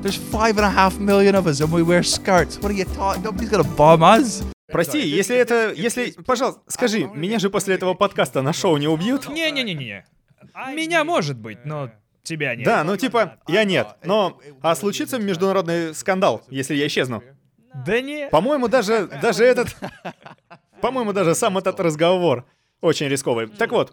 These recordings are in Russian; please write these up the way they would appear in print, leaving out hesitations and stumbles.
There's 5.5 million of us and we wear skirts. What are you talking? Nobody's gonna bomb us. Прости, если... Пожалуйста, скажи, меня же после этого подкаста на шоу не убьют? Не-не-не-не. Меня может быть, но тебя нет. Да, ну типа, я нет. Но... А случится международный скандал, если я исчезну? Да не. По-моему, даже этот... По-моему, даже сам этот разговор очень рисковый. Так вот,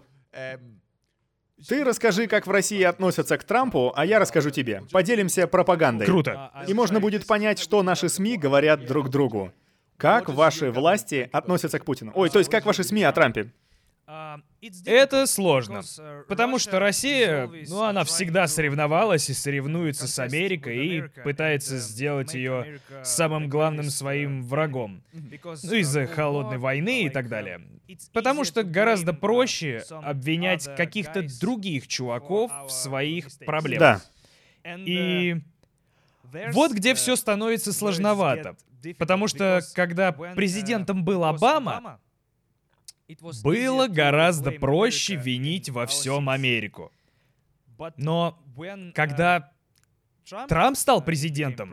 ты расскажи, как в России относятся к Трампу, а я расскажу тебе. Поделимся пропагандой. Круто. И можно будет понять, что наши СМИ говорят друг другу. Как ваши власти относятся к Путину? Ой, то есть как ваши СМИ о Трампе? Это сложно, потому что Россия, она всегда соревновалась и соревнуется с Америкой и пытается сделать ее самым главным своим врагом. Ну, из-за холодной войны и так далее. Потому что гораздо проще обвинять каких-то других чуваков в своих проблемах. Да. И вот где все становится сложновато. Потому что, когда президентом был Обама, было гораздо проще винить во всем Америку. Но когда Трамп стал президентом,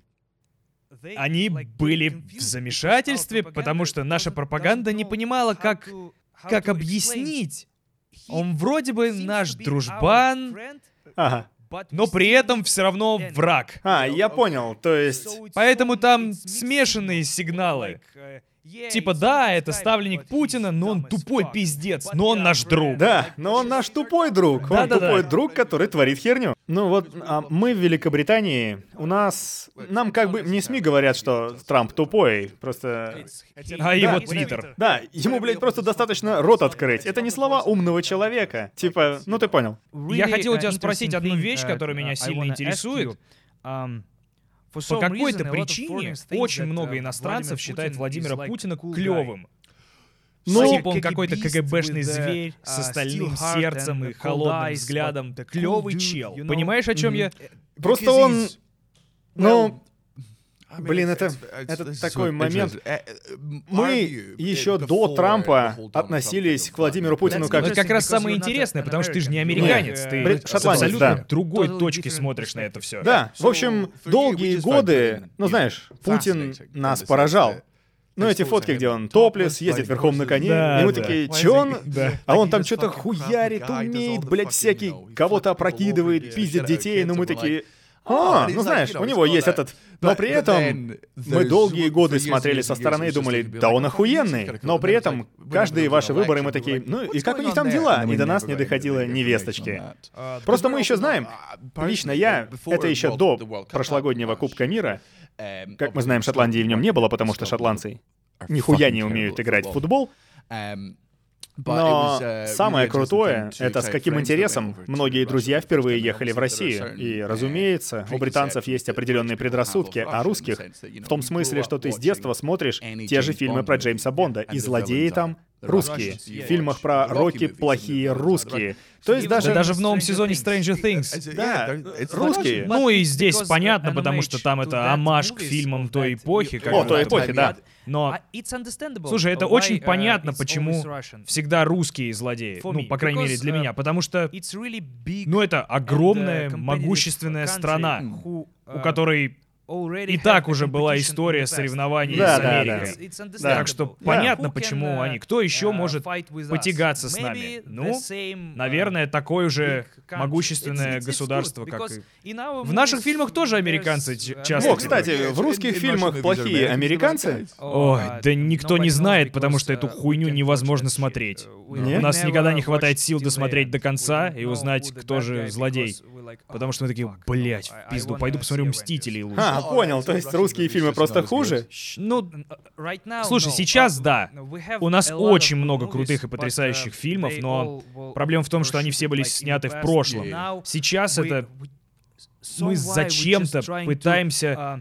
они были в замешательстве, потому что наша пропаганда не понимала, как объяснить. Он вроде бы наш дружбан, Ага. но при этом все равно враг. Я понял, то есть... Поэтому там смешанные сигналы. Типа, да, это ставленник Путина, но он тупой пиздец, но он наш друг. Да, но он наш тупой друг. Он Да-да-да. тупой друг, который творит херню. Ну вот, мы в Великобритании, нам как бы не СМИ говорят, что Трамп тупой, просто... А его твиттер. Да, ему, блядь, просто достаточно рот открыть. Это не слова умного человека. Типа, ну ты понял. Я хотел у тебя спросить одну вещь, которая меня сильно интересует. По какой-то причине очень много иностранцев считают Владимира Путина клевым. Ну, Типа он какой-то КГБшный зверь с остальным сердцем и холодным взглядом. Клевый чел. Понимаешь, о чем я? просто он... Ну... Блин, это такой момент. Мы еще до Трампа относились к Владимиру Путину как... Это как раз самое интересное, потому что ты же не американец, ты с шотландец, абсолютно да. другой точки смотришь на это все. Да, в общем, долгие годы, ну знаешь, Путин нас поражал. Ну, эти фотки, где он топлес, ездит верхом на коне, Да, и мы да. такие, чё он? Да. А он там что-то хуярит, умеет, блядь, всякий, кого-то опрокидывает, пиздит детей, но мы такие... ну знаешь, у него есть этот... Но при этом мы долгие годы смотрели со стороны и думали, да он охуенный. Но при этом каждые ваши выборы мы такие, ну и как у них там дела? И до нас не доходило ни весточки. Просто мы еще знаем, лично я, это еще до прошлогоднего Кубка мира, как мы знаем, Шотландии в нем не было, потому что шотландцы нихуя не умеют играть в футбол. Но самое крутое — это с каким интересом многие друзья впервые ехали в Россию. И, разумеется, у британцев есть определенные предрассудки о русских, в том смысле, что ты с детства смотришь те же фильмы про Джеймса Бонда, и злодеи там русские. В фильмах про Рокки плохие русские. То есть Даже в новом сезоне Stranger Things. Да, русские. Ну и здесь понятно, потому что там это омаж к фильмам той эпохи. Той эпохи, да. Но, слушай, это очень понятно, почему всегда русские злодеи. Ну, по крайней мере, для меня. Потому что, это огромная, могущественная страна, у которой и так уже была история соревнований с Америкой. Так что понятно, почему они. Кто еще может потягаться с нами? Ну, наверное, такое же могущественное государство, как и... В наших фильмах тоже американцы часто... О, кстати, в русских фильмах плохие американцы? Ой, да никто не знает, потому что эту хуйню невозможно смотреть. У нас никогда не хватает сил досмотреть до конца и узнать, кто же злодей. Потому что мы такие, блять, в пизду, пойду посмотрю «Мстителей» лучше. Понял, то есть русские фильмы просто хуже? Ну, слушай, сейчас да. У нас очень много крутых и потрясающих фильмов, но проблема в том, что они все были сняты в прошлом. Сейчас это... Мы зачем-то пытаемся...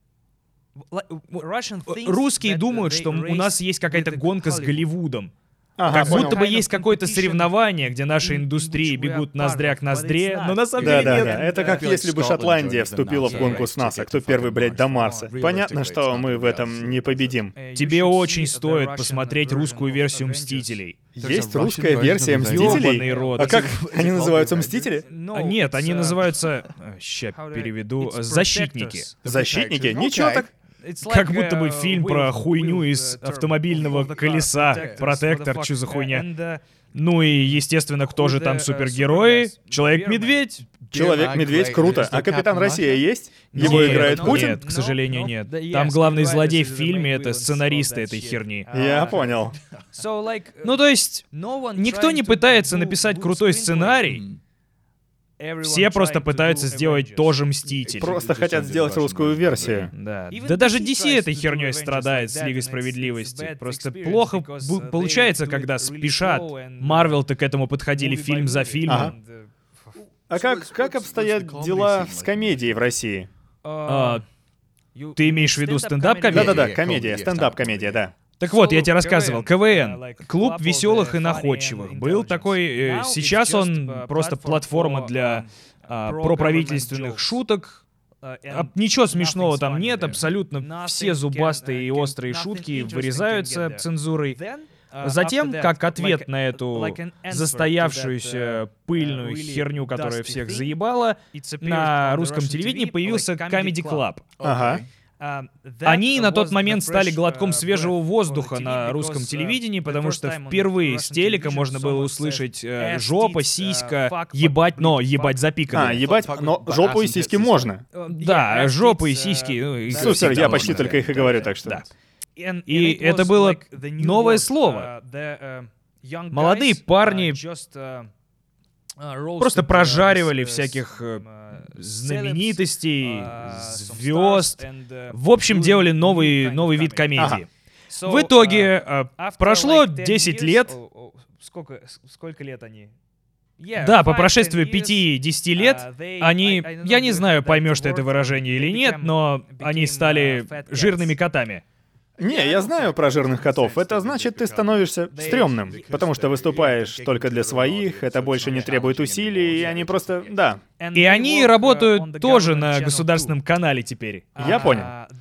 Русские думают, что у нас есть какая-то гонка с Голливудом. Как понял. будто бы есть какое-то соревнование, где наши индустрии бегут ноздря к ноздре, но на самом деле нет. Да. Это как если бы Шотландия вступила в гонку с НАСА. Кто первый, блядь, до Марса? Понятно, что мы в этом не победим. Тебе очень стоит посмотреть русскую версию «Мстителей». Есть русская версия «Мстителей»? Ёбаный рот. А как они называются, «Мстители»? Нет, они называются... Ща переведу. «Защитники». Защитники? Ничего так. Как будто бы фильм про хуйню из автомобильного колеса. Протектор, чё за хуйня. Ну и, естественно, кто же там супергерои? Человек-медведь. Человек-медведь, круто. А Капитан Россия есть? Его играет Путин? Нет, к сожалению, нет. Там главный злодей в фильме — это сценаристы этой херни. Я понял. Ну то есть, никто не пытается написать крутой сценарий. Все просто пытаются сделать тоже «Мститель». Просто хотят сделать русскую версию. Да. Да даже DC этой херней страдает с Лигой Справедливости. Просто плохо получается, когда спешат. Марвел-то к этому подходили фильм за фильмом. А как обстоят дела с комедией в России? Ты имеешь в виду стендап-комедию? Да-да-да, комедия, стендап-комедия, да. Так вот, я тебе рассказывал, КВН, клуб веселых и находчивых, был такой, сейчас он просто платформа для проправительственных шуток. Ничего смешного там нет, абсолютно все зубастые и острые шутки вырезаются цензурой. Затем, как ответ на эту застоявшуюся пыльную херню, которая всех заебала, на русском телевидении появился Comedy Club. Ага. Они на тот момент стали глотком свежего воздуха на русском телевидении, потому что впервые с телека можно было услышать жопа, сиська, ебать, но ебать запиканные. Ебать, но жопу и сиськи можно. Да, жопу и сиськи. Супер, я почти только их и говорю, так что... И это было новое слово. Молодые парни просто прожаривали всяких знаменитостей, звезд. В общем, да, новый вид комедии. В итоге прошло 10 лет. Сколько лет они? Да, по прошествию 5-10 лет они, я не знаю, поймешь ты это выражение или нет, но они стали жирными котами. Не, я знаю про жирных котов. Это значит, ты становишься стрёмным, потому что выступаешь только для своих, это больше не требует усилий, и они просто... Да. И они работают тоже на государственном канале теперь. Я понял.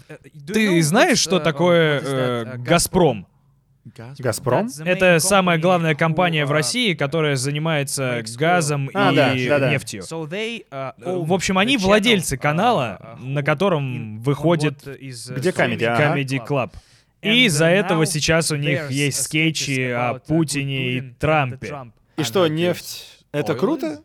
Ты знаешь, что такое «Газпром»? «Газпром»? Это самая главная компания в России, которая занимается газом и нефтью. В общем, они владельцы канала, на котором выходит Где комедия? Comedy Club. И из-за этого сейчас у них есть скетчи о Путине и Трампе. И что, нефть — это круто?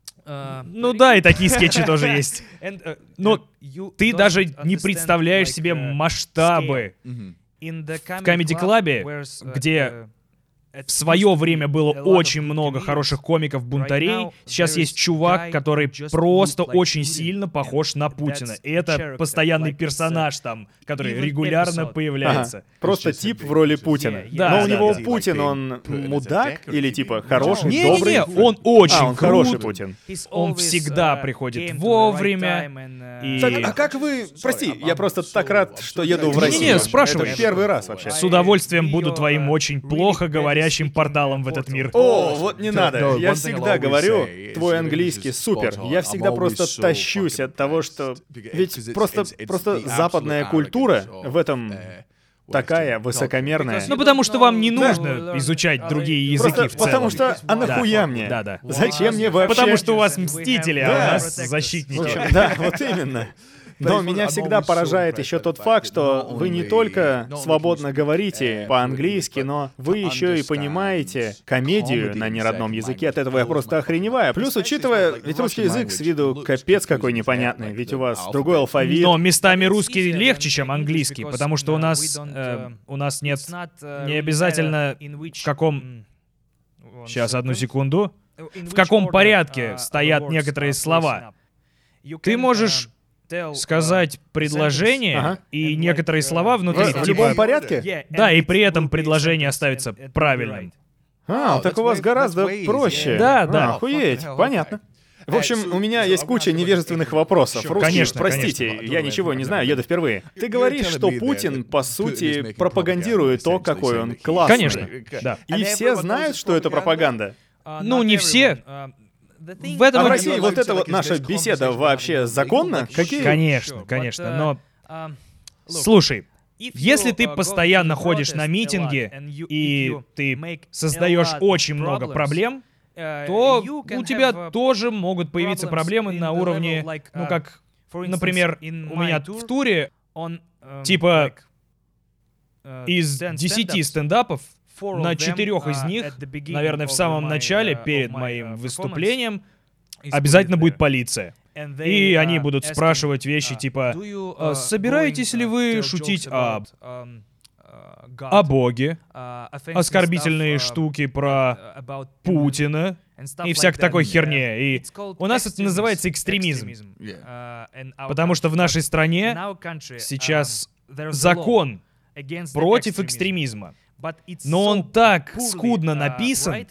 Ну да, и такие скетчи тоже есть. Но ты даже не представляешь себе масштабы. В Comedy Club, где в свое время было очень много хороших комиков-бунтарей, сейчас есть чувак, который просто очень сильно похож на Путина. И это постоянный персонаж там, который регулярно появляется. Просто тип в роли Путина. Да, но у него Путин, он мудак или типа хороший, Не, добрый? он очень он хороший Путин. Он всегда приходит вовремя. И... Так, а как вы... Прости, я просто так рад, что еду в Россию. Не-не, спрашивай. Это первый раз вообще. С удовольствием буду твоим очень плохо говорящим порталом в этот мир. О, вот не надо. Я всегда говорю, твой английский супер. Я всегда просто тащусь от того, что... Ведь просто западная культура в этом... такая высокомерная. Ну, потому что вам не нужно изучать другие языки Просто в целом. потому что, а нахуя мне? Да. Зачем мне вообще? Потому что у вас мстители, а у Да. нас защитники. Да, вот именно. Но меня всегда поражает еще тот факт, что вы не только свободно говорите по-английски, но вы еще и понимаете комедию на неродном языке. От этого я просто охреневаю. Плюс, учитывая, ведь русский язык с виду капец какой непонятный, ведь у вас другой алфавит. Но местами русский легче, чем английский, потому что у нас нет не обязательно в каком... Сейчас, одну секунду. В каком порядке стоят некоторые слова. Ты можешь сказать предложение, и некоторые слова внутри, В любом порядке? Да, и при этом предложение оставится правильным. Так у вас гораздо проще. Да. Охуеть, понятно. В общем, у меня есть куча невежественных вопросов. Русский, Конечно, простите, я ничего не знаю, еду впервые. Ты говоришь, что Путин, по сути, пропагандирует то, какой он классный. Конечно, да. И все знают, что это пропаганда. Ну, не все. В этом А в и- России вот эта вот наша беседа вообще законна? Какие? Конечно, но... Слушай, если ты постоянно ходишь на митинги, и ты создаешь очень много проблем, то у тебя тоже могут появиться проблемы на уровне, ну как, например, у меня в туре, типа, из 10 стендапов, на 4 из них, наверное, в самом начале, перед моим выступлением, обязательно будет полиция. И они будут спрашивать вещи типа, собираетесь ли вы шутить о Боге, оскорбительные штуки про Путина и всякой такой херне. И у нас это называется экстремизм. Потому что в нашей стране сейчас закон против экстремизма. Но он так скудно написан,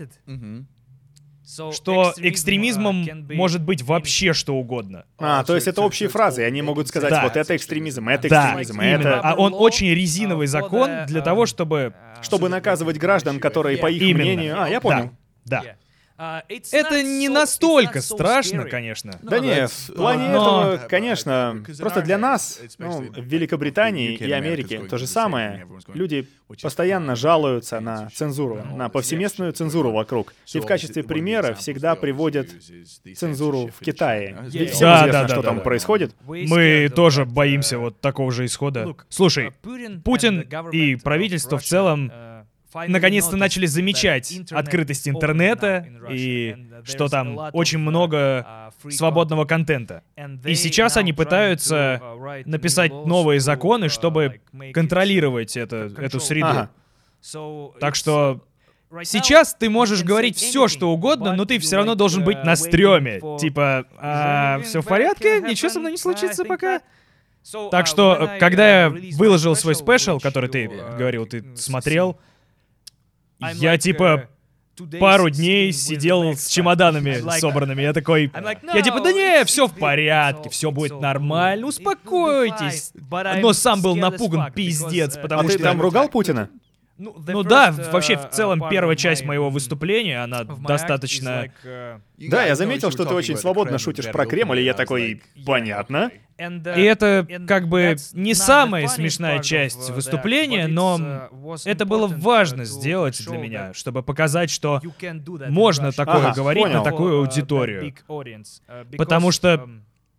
что экстремизмом может быть вообще что угодно. То есть это общие фразы, и они могут сказать, Да. вот это экстремизм, это Да, экстремизм, именно. это... А он очень резиновый закон для того, чтобы... Чтобы наказывать граждан, которые, по их Именно. мнению... я понял. Да. Это не настолько страшно, конечно. Да не, в плане Но- этого, конечно, просто для нас, в Великобритании и Америке то же самое. Люди постоянно жалуются на цензуру, на повсеместную цензуру вокруг. И в качестве примера всегда приводят цензуру в Китае. Ведь всем Да, известно, да, что да, там да. происходит. Мы тоже боимся вот такого же исхода. Слушай, Путин и правительство в целом наконец-то начали замечать открытость интернета и что там очень много свободного контента. И сейчас они пытаются написать новые законы, чтобы контролировать эту среду. Ага. Так что сейчас ты можешь говорить все, что угодно, но ты все равно должен быть на стреме. Типа, все в порядке, ничего со мной не случится пока. Так что, когда я выложил свой спешл, который ты говорил, ты смотрел, я типа пару дней сидел с чемоданами собранными. Я такой, я типа, да не, все в порядке, все будет нормально, успокойтесь. Но сам был напуган пиздец, А потому ты что... там ругал Путина? Ну да, вообще в целом первая часть моего выступления, она достаточно... Да, я заметил, что ты очень свободно шутишь про Кремль, и я такой, понятно. И это как бы не самая смешная часть выступления, но это было важно сделать для меня, чтобы показать, что можно такое Ага, говорить понял. на такую аудиторию. Потому что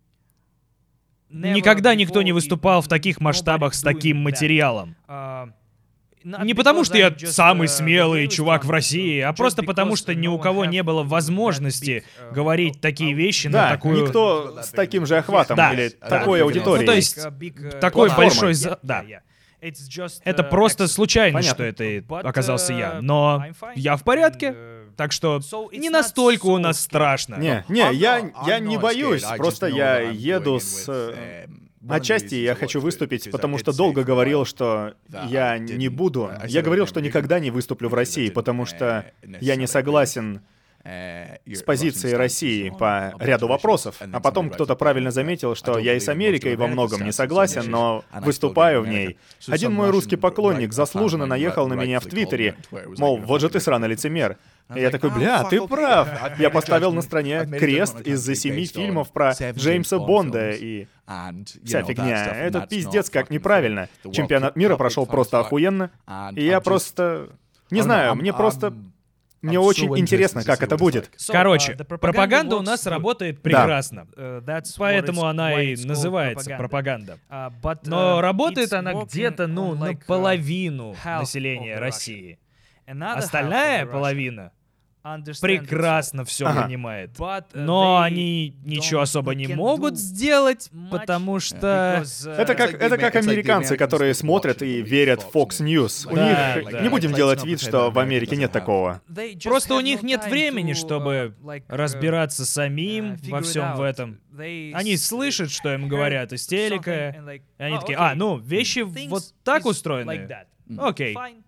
никогда никто не выступал в таких масштабах с таким материалом. Не потому, что я самый смелый чувак в России, а просто потому, что ни у кого не было возможности говорить такие вещи на Да, такую... никто с таким же охватом Да, или да. такой аудиторией. Ну, то есть, такой платформой. большой... Да. Это просто случайно, Понятно. что это оказался я. Но я в порядке, так что не настолько у нас страшно. Не, я не боюсь, просто я еду с... Отчасти я хочу выступить, потому что долго говорил, что я не буду. Я говорил, что никогда не выступлю в России, потому что я не согласен с позицией России по ряду вопросов. А потом кто-то правильно заметил, что я и с Америкой во многом не согласен, но выступаю в ней. Один мой русский поклонник заслуженно наехал на меня в Твиттере, мол, вот же ты сраный лицемер. И я такой, бля, ты прав. Я поставил на стране крест из-за 7 фильмов про Джеймса Бонда и вся фигня. Это пиздец как неправильно. Чемпионат мира прошел просто охуенно. И я просто... Не знаю, мне очень интересно, как это будет. Короче, пропаганда у нас работает прекрасно. Поэтому она и называется пропаганда. Но работает она где-то, наполовину населения России. Остальная половина прекрасно все понимает. Но они ничего особо не могут сделать, потому что... Это как американцы, которые смотрят и верят в Fox News. У них... Не будем делать вид, что в Америке нет такого. Просто у них нет времени, чтобы разбираться самим во всем в этом. Они слышат, что им говорят из телека, и они такие, вещи вот так устроены. Окей.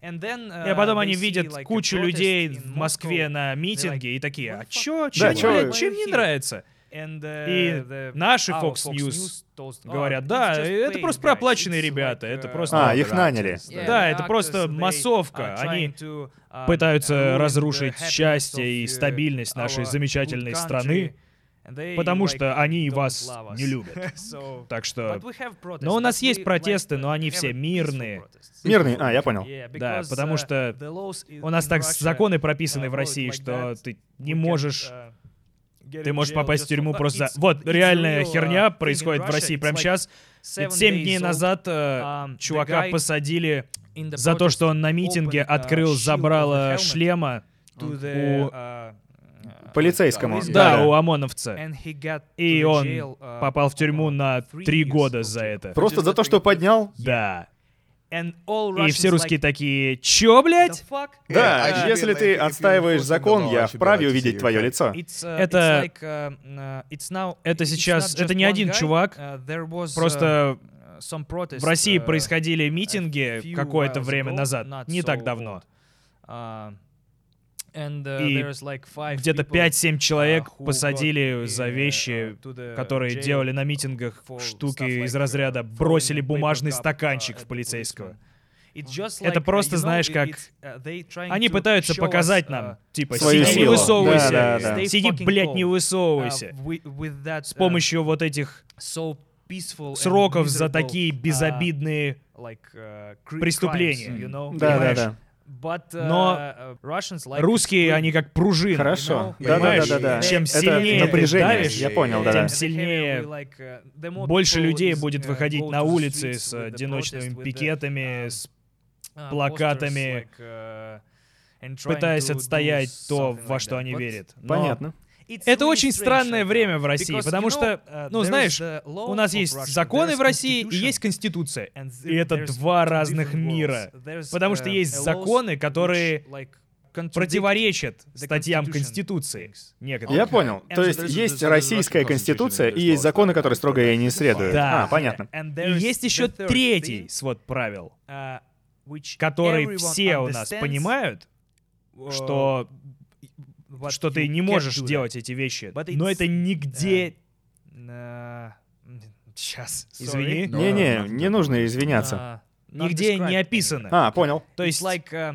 И потом они видят кучу людей в Москве на митинге и такие, а чё, Да, чем не нравится? И наши Fox News говорят, да, это просто проплаченные ребята, это просто... их наняли. Да, это просто массовка. Они пытаются разрушить счастье и стабильность нашей замечательной страны, потому что они вас не любят. Так что... Но у нас есть протесты, но они все мирные. Мирные? Я понял. Да, потому что у нас так законы прописаны в России, что ты не можешь... Ты можешь попасть в тюрьму просто за... Вот, реальная херня происходит в России прямо сейчас. 7 дней назад чувака посадили за то, что он на митинге открыл забрало шлема у... Полицейскому. Да, у ОМОНовца. И он попал в тюрьму на 3 года за это. Просто за то, что поднял? Да. И все русские такие, чё, блядь? Да, если ты отстаиваешь закон, я вправе увидеть твое лицо. Это сейчас... Это не один чувак. Просто в России происходили митинги какое-то время назад, не так давно. И где-то 5-7 человек посадили за вещи, которые делали на митингах, штуки из разряда бросили бумажный стаканчик в полицейского. Это просто, знаешь, как... Они пытаются показать нам, типа, свою сиди, не силу. высовывайся, Да. сиди, блядь, не высовывайся. С помощью вот этих сроков за такие безобидные преступления. Да. Но русские, они как пружины. Хорошо. Понимаешь? Да. Чем Это сильнее ты напряжение, давишь, я понял, тем да. сильнее больше людей будет выходить на улицы с одиночными пикетами, с плакатами, пытаясь отстоять то, во что они верят. Но Понятно. это очень странное время в России, потому что, знаешь, у нас есть законы в России и есть Конституция. И это два разных мира. Потому что есть законы, которые противоречат статьям Конституции. Некоторые. Я понял. То есть российская Конституция и есть законы, которые строго ей не следуют. Да. Понятно. И есть еще третий свод правил, который все у нас понимают, что ты не можешь делать эти вещи. Но это нигде... Сейчас, извини. Не нужно извиняться. Нигде не описано. Понял. То есть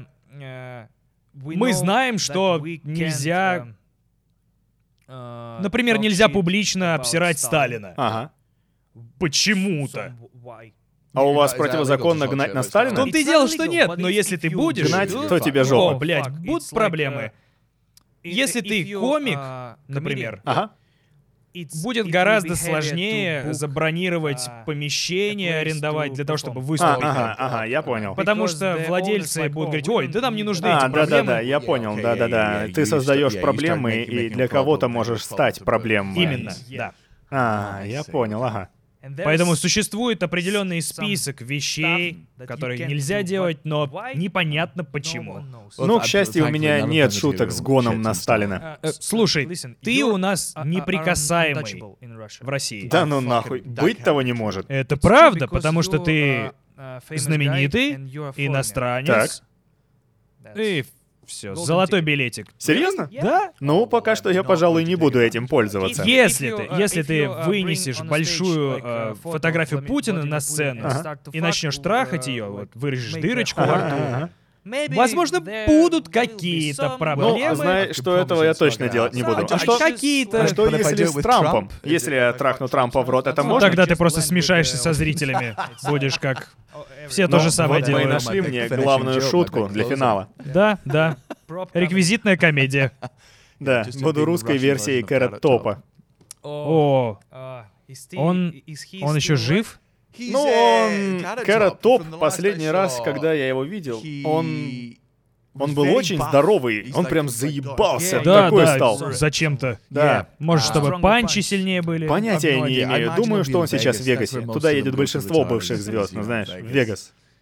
мы знаем, что нельзя... Например, нельзя публично обсирать Сталина. Ага. Почему-то. А у вас противозаконно гнать на В Сталина? том-то и дело, что нет, но если ты будешь... Гнать, то тебе жопа. О, блядь, будут проблемы. Если ты комик, например, будет гораздо сложнее забронировать помещение, арендовать для того, чтобы выступить. Ага, я понял. Потому что владельцы будут говорить, ой, да нам не нужны эти проблемы. Да, я понял, да. Ты создаешь проблемы, и для кого-то можешь стать проблемой. Именно, да. Я понял, ага. Поэтому существует определенный список вещей, которые нельзя делать, но непонятно почему. Ну, к счастью, у меня нет шуток с гоном на Сталина. Слушай, ты у нас неприкасаемый в России. Да ну нахуй, быть того не может. Это правда, потому что ты знаменитый, иностранец, и все, золотой билетик. Серьезно? Да? Ну, пока что я, пожалуй, не буду этим пользоваться. Если ты вынесешь большую фотографию Путина на сцену и начнешь трахать ее, вот вырежешь дырочку во рту, возможно, будут какие-то проблемы. Ну, знай, что этого я точно делать не буду. А что какие-то... А что если с Трампом? Если я трахну Трампа в рот, это можно? Тогда ты просто смешаешься со зрителями. Будешь как... Все то же самое вот мы и делают. нашли мне главную шутку для финала. Да. Реквизитная комедия. Да, буду русской версией Кэрот Топа. О, он еще жив? Ну, Кэрот Топ, последний раз, когда я его видел, он был очень здоровый, он прям заебался, такой стал. Зачем-то. Да. Может, чтобы панчи сильнее были? Понятия не имею. Думаю, что он сейчас в Вегасе. Туда едет большинство бывших звезд, ну знаешь, в Вегас.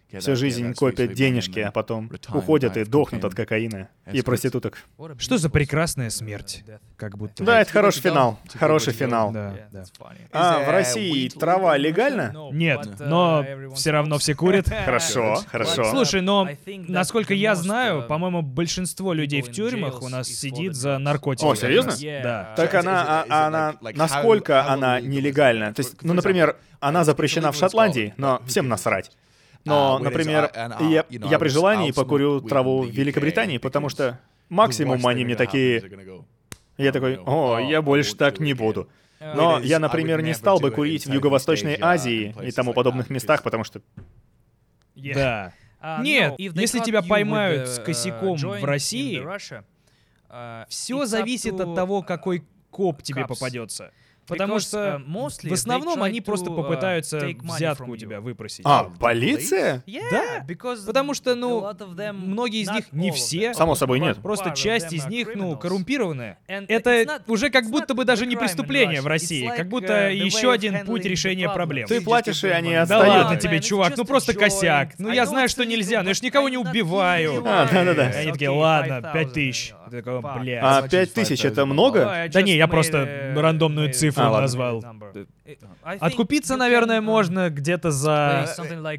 всю жизнь копят денежки, а потом уходят и дохнут от кокаина и проституток. Что за прекрасная смерть, как будто. Да, это хороший финал. Хороший финал. Да. А в России трава легальна? Нет, но все равно все курят. Хорошо, хорошо. Слушай, но насколько я знаю, по-моему, большинство людей в тюрьмах у нас сидит за наркотики. О, серьезно? Да. Так она насколько она нелегальна? То есть, ну, например, она запрещена в Шотландии, но всем насрать. Но, например, я при желании покурю траву в Великобритании, потому что максимум они мне такие... Я такой, о, я больше так не буду. Но я, например, не стал бы курить в Юго-Восточной Азии и тому подобных местах, потому что... Да. Нет, если тебя поймают с косяком в России, все зависит от того, какой коп тебе попадется. Потому что в основном они просто попытаются взятку у тебя выпросить. А, полиция? Да, потому что, многие из них, не все. Само собой, нет. Просто часть из них, коррумпированная. Это уже как будто бы даже не преступление в России. Как будто еще один путь решения проблем. Ты платишь, и они Да отстают. ладно тебе, чувак, просто косяк. Я знаю, что нельзя, но я ж никого не убиваю. Да-да-да. Они такие, ладно, 5000. Ты такой, блядь. А 5000 это много? Да не, я просто рандомную цифру назвал. Откупиться, наверное, можно где-то за...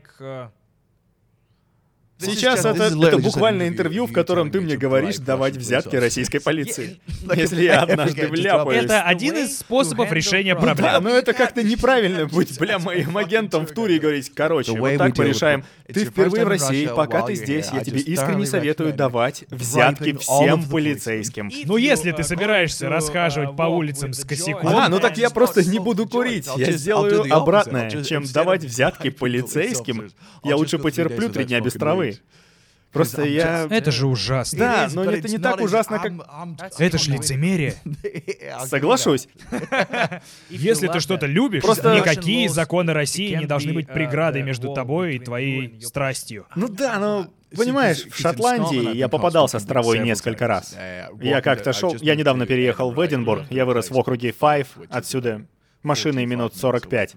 Сейчас это буквально интервью, в котором ты мне говоришь давать взятки российской полиции. Если я однажды вляпаюсь. Это один из способов решения Да, проблем. но это как-то неправильно быть, моим агентом в туре и говорить, короче, вот так порешаем. Ты впервые в России, пока ты здесь, я тебе искренне советую давать взятки всем полицейским. Ну, если ты собираешься расхаживать по улицам с косяком... Ну так я просто не буду курить. Я сделаю обратное, чем давать взятки полицейским. Я лучше потерплю 3 дня без травы. Просто я... Это же ужасно. Да, но это не так ужасно, как... Это ж лицемерие. Соглашусь. Если ты что-то любишь, Просто- никакие законы России не должны быть преградой между тобой и твоей страстью. Ну да, но... Понимаешь, в Шотландии я попадался с травой несколько раз. Я как-то шел... Я недавно переехал в Эдинбург, я вырос в округе Файв, отсюда машиной минут 45.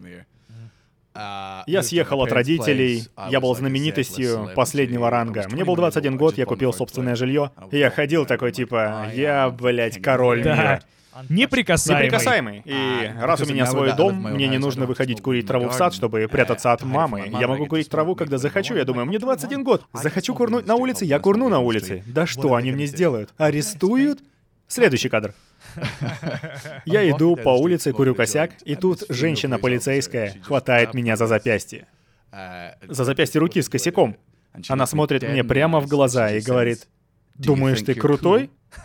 Я съехал от родителей, я был знаменитостью последнего ранга. Мне был 21 год, я купил собственное жилье. И я ходил такой, типа, я, блядь, король мира. Неприкасаемый. Неприкасаемый. И раз у меня свой дом, мне не нужно выходить курить траву в сад, чтобы прятаться от мамы. Я могу курить траву, когда захочу. Я думаю, мне 21 год. Захочу курнуть на улице, я курну на улице. Да что они мне сделают? Арестуют? Следующий кадр. Я иду по улице, курю косяк, и тут женщина полицейская хватает меня за запястье. За запястье руки с косяком. Она смотрит мне прямо в глаза и говорит, «Думаешь, ты крутой?»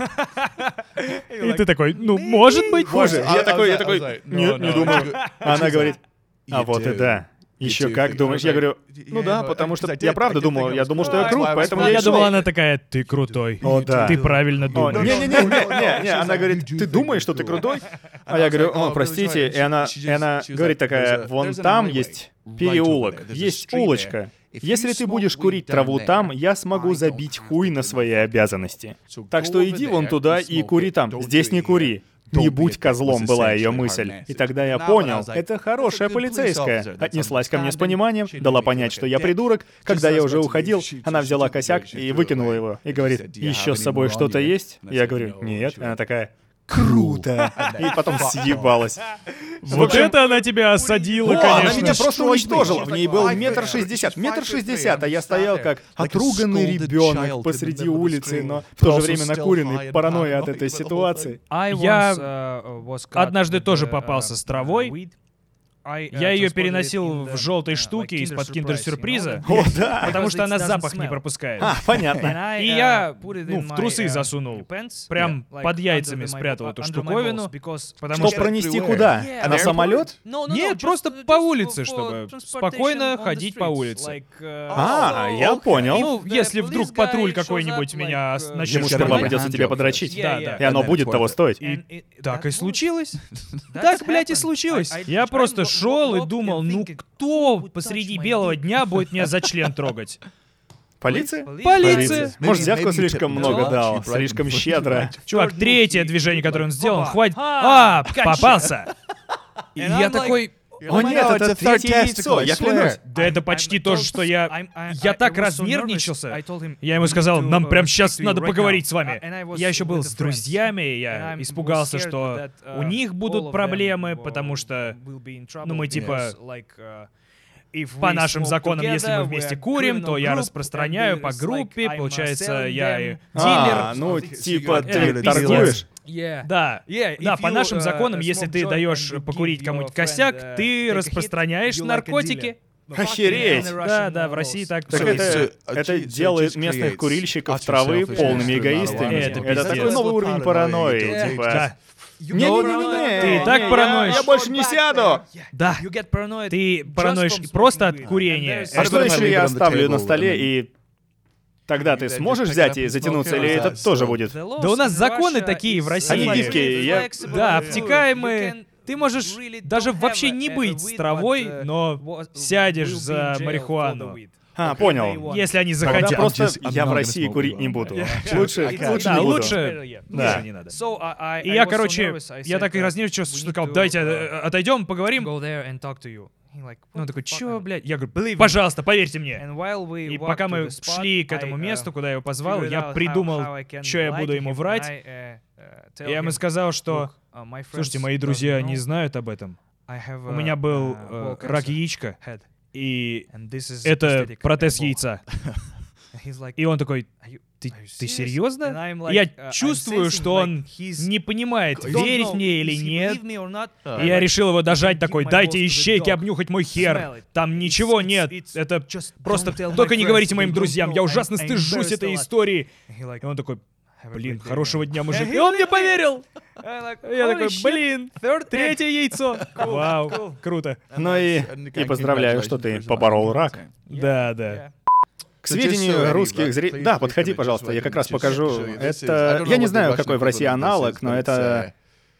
И ты такой, может быть. Боже, я такой, не думаю. Она говорит, а вот и да. Еще как думаешь? Я говорю, ну да, потому что я правда думал, я думал, что я крут, поэтому я и Я шел. думала, она такая, ты крутой. О, да. Ты правильно О, думаешь. не, она говорит, ты думаешь, что ты крутой? А я говорю, о, простите, и она говорит такая, вон там есть переулок, есть улочка. Если ты будешь курить траву там, я смогу забить хуй на свои обязанности. Так что иди вон туда и кури там, здесь не кури. «Не будь козлом» была ее мысль. И тогда я понял, это хорошая полицейская. Отнеслась ко мне с пониманием, дала понять, что я придурок. Когда я уже уходил, она взяла косяк и выкинула его. И говорит, еще с собой что-то есть? Я говорю, нет. Она такая, круто. И потом съебалась. Вот это она тебя осадила, О, конечно. она меня просто уничтожила. В ней был 1,60 м. 1,60 м, а я стоял как отруганный ребенок посреди улицы, но в то же время накуренный, паранойя от этой ситуации. Я однажды тоже попался с травой. Я ее переносил в желтой штуке из-под киндер-сюрприза, О, да. потому что она запах не пропускает. А, понятно. И я, в трусы засунул. Прям под яйцами спрятал эту штуковину. Потому Что что... пронести куда? На самолет? Нет, просто по улице, чтобы спокойно ходить по улице. А, я понял. Ну, если вдруг патруль какой-нибудь меня начнет Ему сперва шпионить. придется тебя подрочить. Да. И оно будет того стоить. И так и случилось. Так, блядь, и случилось. Я просто шел и думал, кто посреди белого дня будет меня за член трогать? Полиция? Полиция! Может, взятку слишком много дал, слишком щедро. Чувак, третье движение, которое он сделал, хватит... попался! И я такой... О нет, это третье яйцо, я клянусь. Да это почти то же, что я... Я так разнервничался. Я ему сказал, нам прям сейчас надо поговорить с вами. Я еще был с друзьями, и я испугался, что у них будут проблемы, потому что, ну, мы типа... По нашим законам, если мы вместе курим, то я распространяю по группе, получается, я и дилер. Ну, типа, ты торгуешь? Да, по нашим законам, если ты даешь покурить кому-нибудь косяк, ты распространяешь наркотики. Охереть! Да, в России так. Так это делает местных курильщиков травы полными эгоистами. Это такой новый уровень паранойи, типа... Не-не-не-не! Ты и так параноишь. Я больше не сяду! Да. Ты параноишь просто от курения. А что если я оставлю на столе и... Тогда ты сможешь взять и затянуться, или это тоже будет? Да у нас законы такие в России. Они гибкие, Да, обтекаемые. Ты можешь даже вообще не быть с травой, но сядешь за марихуану. Понял. Если они Тогда захотят. просто я в России курить не буду. Лучше не буду. Лучше не надо. И я, короче, я так и разнервничался, что сказал, давайте отойдем, поговорим. Он такой, чё, блядь? Я говорю, пожалуйста, поверьте мне. И пока мы шли к этому месту, куда я его позвал, я придумал, что я буду ему врать. Я ему сказал, что, слушайте, мои друзья не знают об этом. У меня был рак яичка, и это протез яйца. И он такой, ты серьезно? Я чувствую, что он не понимает, верить мне или нет. И я решил его дожать такой, дайте ищейке обнюхать мой хер. Там ничего нет. Это просто... Только не говорите моим друзьям, я ужасно стыжусь этой истории. И он такой, блин, хорошего дня, мужик. И он мне поверил. Я такой, блин, третье яйцо. Вау, круто. Ну и поздравляю, что ты поборол рак. Да. К сведению русских зрителей... Да, подходи, пожалуйста, я как раз покажу. Это... Я не знаю, какой в России аналог, но это...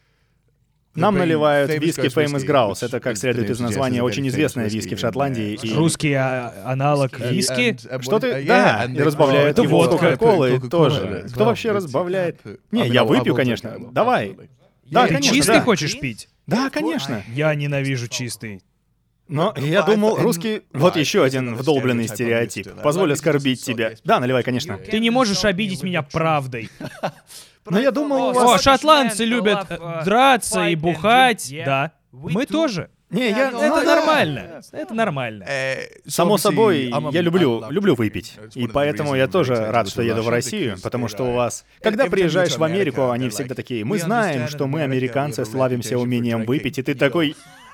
Нам наливают виски Famous Grouse. Это, как следует из названия, очень известная виски в Шотландии. И... Русский аналог виски? Что ты... Да, и разбавляют его Кока-Колой тоже. Кто вообще разбавляет? Не, я выпью, конечно. Давай. Да, ты конечно, чистый да. хочешь пить? Да, конечно. Я ненавижу чистый. Но я думал, русский... Вот еще один вдолбленный стереотип. Позволь оскорбить тебя. Да, наливай, конечно. Ты не можешь обидеть меня правдой. Но я думал, у О, вас... шотландцы любят драться и бухать. Да, мы тоже. Не, я... Это нормально. Это нормально. Само собой, я люблю выпить. И поэтому я тоже рад, что еду в Россию, потому что у вас... Когда приезжаешь в Америку, они всегда такие, мы знаем, что мы, американцы, славимся умением выпить, и ты такой...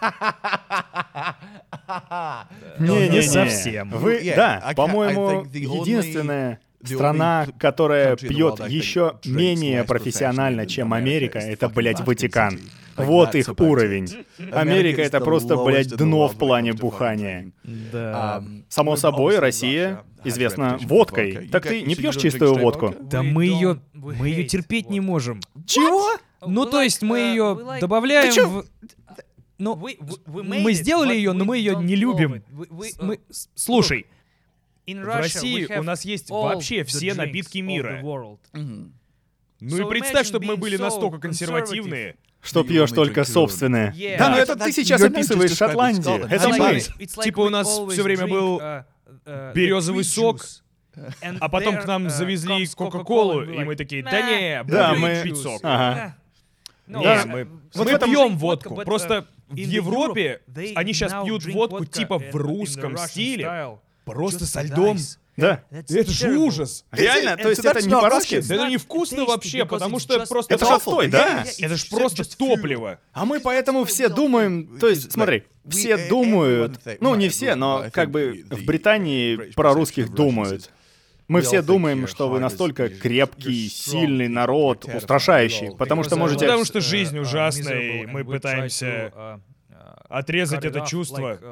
Не совсем. Вы, да, по-моему, единственная страна, которая пьет еще менее профессионально, чем Америка, это, блядь, Ватикан. Вот их уровень. Америка — это просто, блядь, дно в плане бухания. Да. Само собой, Россия известна водкой. Так ты не пьешь чистую водку? Да мы ее терпеть не можем. Чего? Ну, то есть мы ее добавляем в... Ну, мы сделали ее, но мы ее не любим. Слушай, в России у нас есть вообще все напитки мира. Ну и представь, чтобы мы были настолько консервативные. Что пьешь только собственное. Да, но это ты сейчас описываешь Шотландию. Это мы. Типа у нас все время был березовый сок, а потом к нам завезли Кока-Колу, и мы такие, да не, будем пить сок. Ага. Не, мы пьем водку. Просто в Европе они сейчас пьют водку типа в русском стиле, просто со льдом. Да. Это же ужас. Реально? То есть это не по-русски? Да это невкусно вообще, потому что просто... Это же отстой, да? Это же просто топливо. А мы поэтому все думаем... То есть, смотри, все думают... Ну, не все, но как бы в Британии про русских думают. Мы все думаем, что вы настолько крепкий, сильный народ, устрашающий, потому что можете... Потому что жизнь ужасная, и мы пытаемся отрезать это чувство.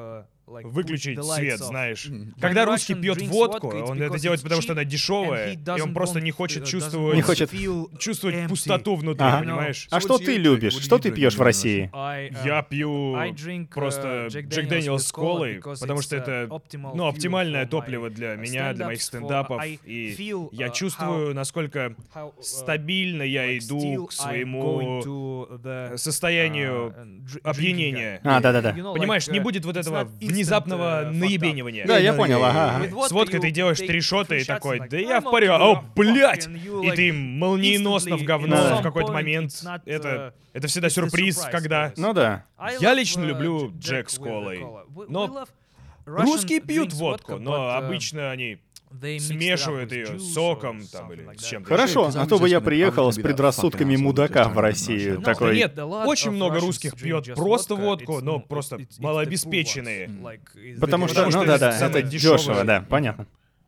выключить свет, знаешь. Когда русский пьет водку, он это делает потому, что она дешевая, и он просто не хочет чувствовать пустоту внутри, понимаешь? А что ты любишь? Что ты пьешь в России? Я пью просто Джек Дэниелс с колой, потому что это, оптимальное топливо для меня, для моих стендапов, и я чувствую, насколько стабильно я иду к своему состоянию опьянения. Да-да-да. Понимаешь, не будет вот этого внезапного наебенивания. Да, я понял, ага. С водкой ты делаешь 3 шота и такой, да я в порядке, о, блядь! И ты молниеносно в говно в какой-то момент. Это всегда сюрприз, когда... Ну да. Я лично люблю Джек с колой. Но русские пьют водку, но обычно они смешивают ее с соком там или с чем-то. Хорошо, а то бы я приехал с предрассудками мудака в Россию. Такой... Нет, очень много русских пьет просто водку, но просто малообеспеченные. Потому что, ну да-да, это дешево, да, понятно.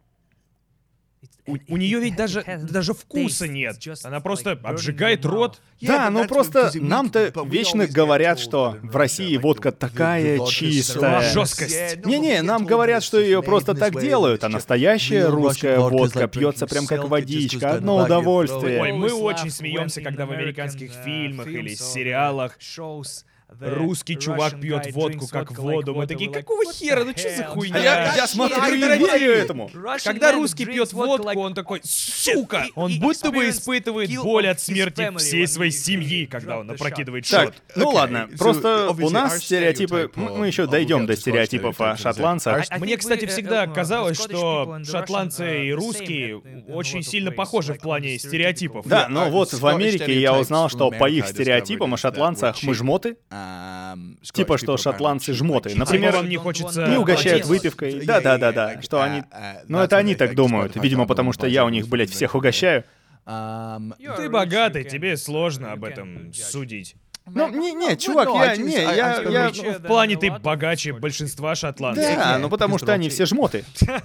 У нее ведь даже вкуса нет. Она просто обжигает рот. Да, ну просто нам-то вечно говорят, что в России водка такая чистая. Жесткость. Не-не, нам говорят, что ее просто так делают, а настоящая русская водка пьется прям как водичка, одно удовольствие. Ой, мы очень смеемся, когда в американских фильмах или сериалах русский чувак пьет водку как воду. Мы такие, какого хера, ну что за хуйня? Я смотрю и верю этому. Когда русский пьет водку, он такой, сука! Он будто бы испытывает боль от смерти всей своей семьи, когда он опрокидывает шот. Так, ну ладно, просто у нас стереотипы... Мы еще дойдем до стереотипов о шотландцах. Мне, кстати, всегда казалось, что шотландцы и русские очень сильно похожи в плане стереотипов. Да, но вот в Америке я узнал, что по их стереотипам о шотландцах мы жмоты. Типа, что шотландцы жмоты. Например, вам не хочется... не угощают выпивкой. Да. Что они... Ну, это они так думают. Видимо, потому что я у них, блядь, всех угощаю. Ты богатый, тебе сложно об этом судить. Ну, не, чувак, я... В плане ты богаче большинства шотландцев. Да, ну потому что они все жмоты.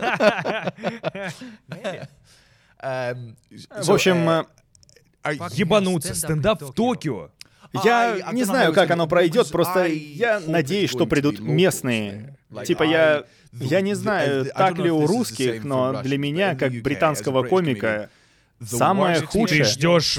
В общем... Ебануться, стендап в Токио. Я не знаю, как оно пройдет, просто я надеюсь, что придут местные. Типа я не знаю, так ли у русских, но для меня, как британского комика, самое худшее... Ты ждешь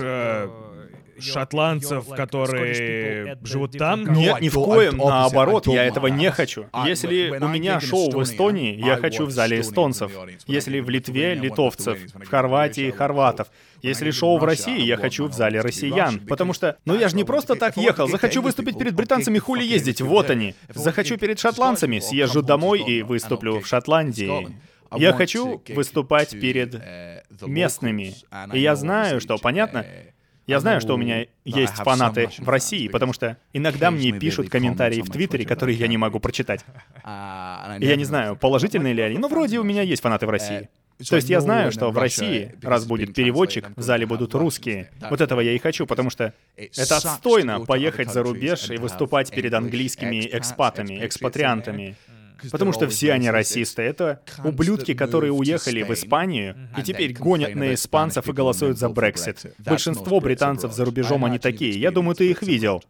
шотландцев, которые живут там? Нет, ни в коем, наоборот, я этого не хочу. Если у меня шоу в Эстонии, я хочу в зале эстонцев. Если в Литве — литовцев, в Хорватии — хорватов. Если шоу в России, я хочу в зале россиян. Потому что, ну я же не просто так ехал. Захочу выступить перед британцами, хули ездить, вот они. Захочу перед шотландцами, съезжу домой и выступлю в Шотландии. Я хочу выступать перед местными. И я знаю, что, понятно, я знаю, что у меня есть фанаты в России, потому что иногда мне пишут комментарии в Твиттере, которые я не могу прочитать. Я не знаю, положительные ли они, но вроде у меня есть фанаты в России. То есть я знаю, что в России, раз будет переводчик, в зале будут русские. Вот этого я и хочу, потому что это отстойно поехать за рубеж и выступать перед английскими экспатами, экспатриантами. Потому что все они расисты. Это ублюдки, которые уехали в Испанию и теперь гонят на испанцев и голосуют за Брексит. Большинство британцев за рубежом они такие. Я думаю, ты их видел.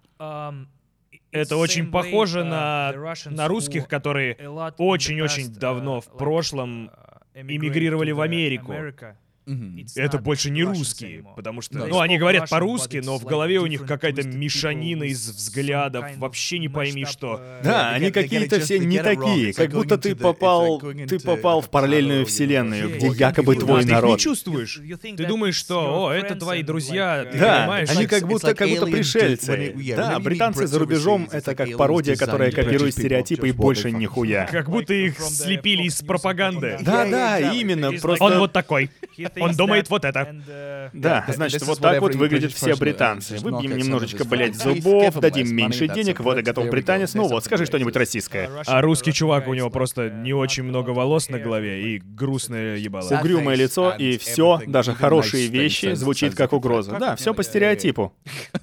Это очень похоже на русских, которые очень-очень давно в прошлом эмигрировали в Америку. Это больше не русские, потому что... Ну, они говорят по-русски, но в голове у них какая-то мешанина из взглядов, вообще не пойми что. Да, они какие-то все не такие, как будто ты попал в параллельную вселенную, где якобы твой народ. Ты не чувствуешь. Ты думаешь, что, это твои друзья, ты да, понимаешь? Они как будто пришельцы. Да, британцы за рубежом — это как пародия, которая копирует стереотипы и больше нихуя. Как будто их слепили из пропаганды. Да, именно, просто... Он вот такой. Он думает вот это. Да, значит, вот так вот выглядят все британцы. Выбьем немножечко, блядь, зубов, дадим меньше денег, вот и готов британец. Ну вот, скажи что-нибудь российское. А русский чувак, у него просто не очень много волос на голове и грустное ебало. Угрюмое лицо, и все, даже хорошие вещи, звучит как угроза. Да, все по стереотипу.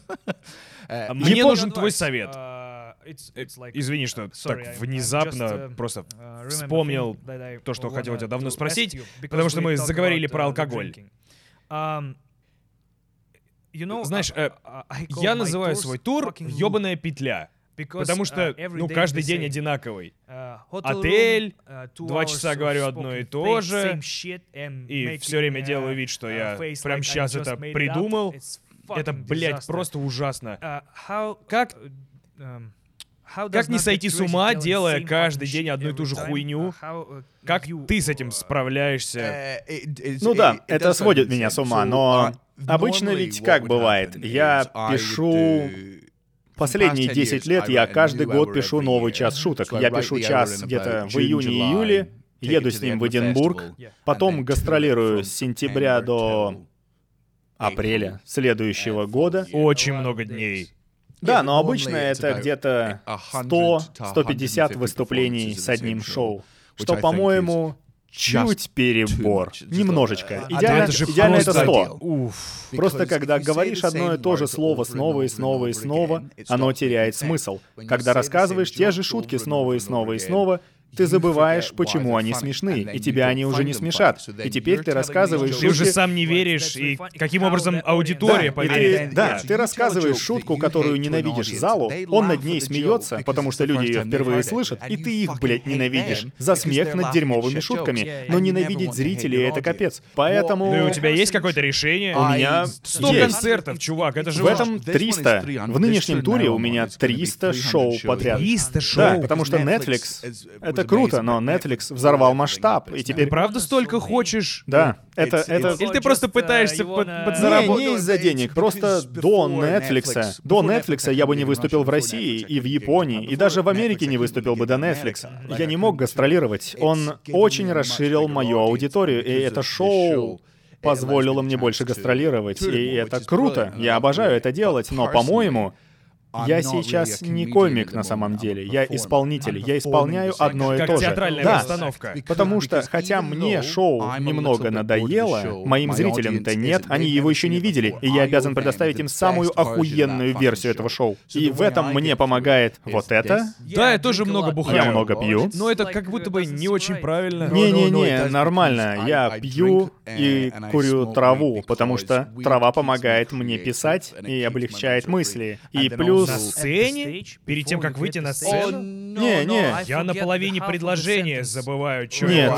Мне нужен твой совет. Извини, что так внезапно просто вспомнил то, что хотел тебя давно спросить, потому что мы заговорили про алкоголь. Знаешь, я называю свой тур «Ёбаная петля». Потому что, каждый день одинаковый. Отель, 2 часа говорю одно и то же, и все время делаю вид, что я прямо сейчас это придумал. Это, блядь, просто ужасно. Как не сойти с ума, делая каждый день одну и ту же хуйню? Как ты с этим справляешься? Ну да, это сводит меня с ума, но обычно ведь как бывает? Я пишу... Последние 10 лет я каждый год пишу новый час шуток. Я пишу час где-то в июне-июле, еду с ним в Эдинбург, потом гастролирую с сентября до апреля следующего года. Очень много дней. Да, но обычно это где-то 100-150 выступлений с одним шоу, что, по-моему, чуть перебор. Немножечко. Идеально это 100. Просто когда говоришь одно и то же слово снова и снова и снова, оно теряет смысл. Когда рассказываешь те же шутки снова и снова и снова, ты забываешь, почему они смешны, и тебя они уже не смешат. И теперь ты рассказываешь шутки... Ты уже сам не веришь, и каким образом аудитория поверит. Да, ты рассказываешь шутку, которую ненавидишь залу, он над ней смеется, потому что люди ее впервые слышат, и ты их, блядь, ненавидишь за смех над дерьмовыми шутками. Но ненавидеть зрителей — это капец. Поэтому... Ну и у тебя есть какое-то решение? У меня 100 концертов, чувак, это же... В этом 300. В нынешнем туре у меня 300 шоу подряд. 300 шоу? Да, потому что Netflix... Это круто, но Netflix взорвал масштаб, и теперь... Ты правда столько хочешь? Да, это... Или ты просто пытаешься подзаработать? Не из-за денег, просто до Netflix я бы не выступил в России и в Японии, и даже в Америке не выступил бы до Netflix. Я не мог гастролировать. Он очень расширил мою аудиторию, и это шоу позволило мне больше гастролировать, и это круто. Я обожаю это делать, но, по-моему... Я сейчас не комик на самом деле, я исполнитель, я исполняю одно и то же. Как театральная постановка. Потому что, хотя мне шоу немного надоело, моим зрителям-то нет, они его еще не видели, и я обязан предоставить им самую охуенную версию этого шоу. И в этом мне помогает вот это. Да, я тоже много бухаю. Я много пью. Но это как будто бы не очень правильно. Не-не-не, нормально. Я пью и курю траву, потому что трава помогает мне писать и облегчает мысли. И плюс... На сцене? Перед тем, как выйти на сцену? Не. Я на половине предложения забываю, что Нет,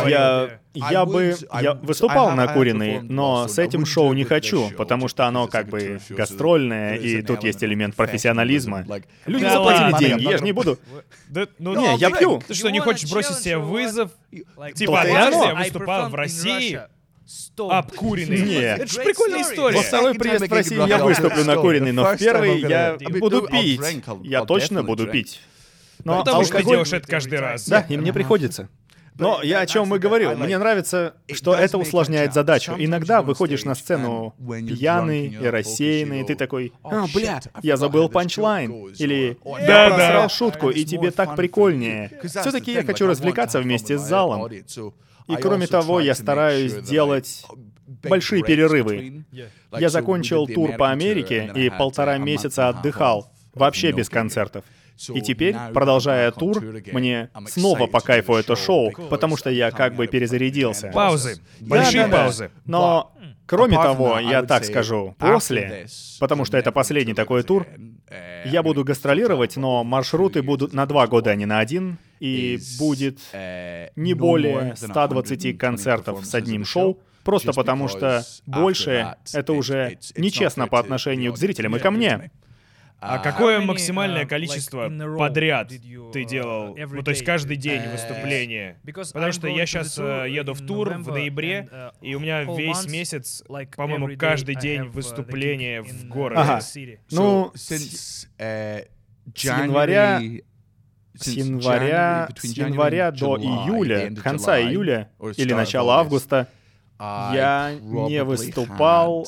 я я выступал на Куриной, но с этим шоу не хочу, потому что оно как бы гастрольное, и тут есть элемент профессионализма. Люди Да заплатили ладно. деньги, я же не буду. Не, я пью. Ты что, не хочешь бросить себе вызов? Типа, То-то и однажды оно. я выступал в России, обкуренный. Нет. Это же прикольная история. Во второй приезд в Россию я выступлю на Куриной, но в первый я буду пить. Я точно буду пить. Но Потому что ты алкоголь... делаешь это каждый раз. Да, и мне приходится. Но я о чем и говорил. Мне нравится, что это усложняет задачу. Иногда выходишь на сцену пьяный и рассеянный, и ты такой: бля, я забыл панчлайн. Или я просрал шутку, и тебе так прикольнее. Все-таки я хочу развлекаться вместе с залом. И кроме того, я стараюсь делать большие перерывы. Я закончил тур по Америке и 1,5 месяца отдыхал, вообще без концертов. И теперь, продолжая тур, мне снова по кайфу это шоу, потому что я как бы перезарядился. Паузы. Большие паузы. Но, кроме того, я так скажу, после, потому что это последний такой тур, я буду гастролировать, но маршруты будут на 2 года, а не на 1, и будет не более 120 концертов с одним шоу, просто потому что больше это уже нечестно по отношению к зрителям и ко мне. А какое максимальное количество подряд ты делал? Ну, то есть каждый день выступления? Потому что я сейчас еду в тур в ноябре, и у меня весь месяц, по-моему, каждый день выступления в городе. Ага. Ну, с января до июля, конца июля или начала августа я не выступал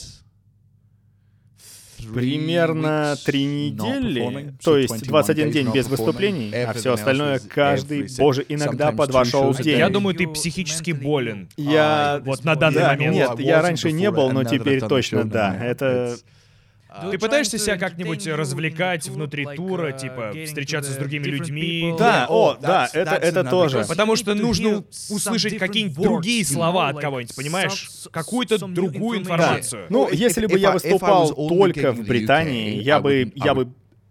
примерно 3 недели, то есть 21 день без выступлений, а все остальное каждый, боже, иногда по 2 шоу в день. Я думаю, ты психически болен. Я... Вот на данный момент. Нет, я раньше не был, но теперь точно да. Это... Ты пытаешься себя как-нибудь развлекать внутри тура, типа встречаться с другими людьми? Да, это тоже. Потому что нужно услышать какие-нибудь другие слова от кого-нибудь, понимаешь? Какую-то другую информацию. Ну, если бы я выступал только в Британии, я бы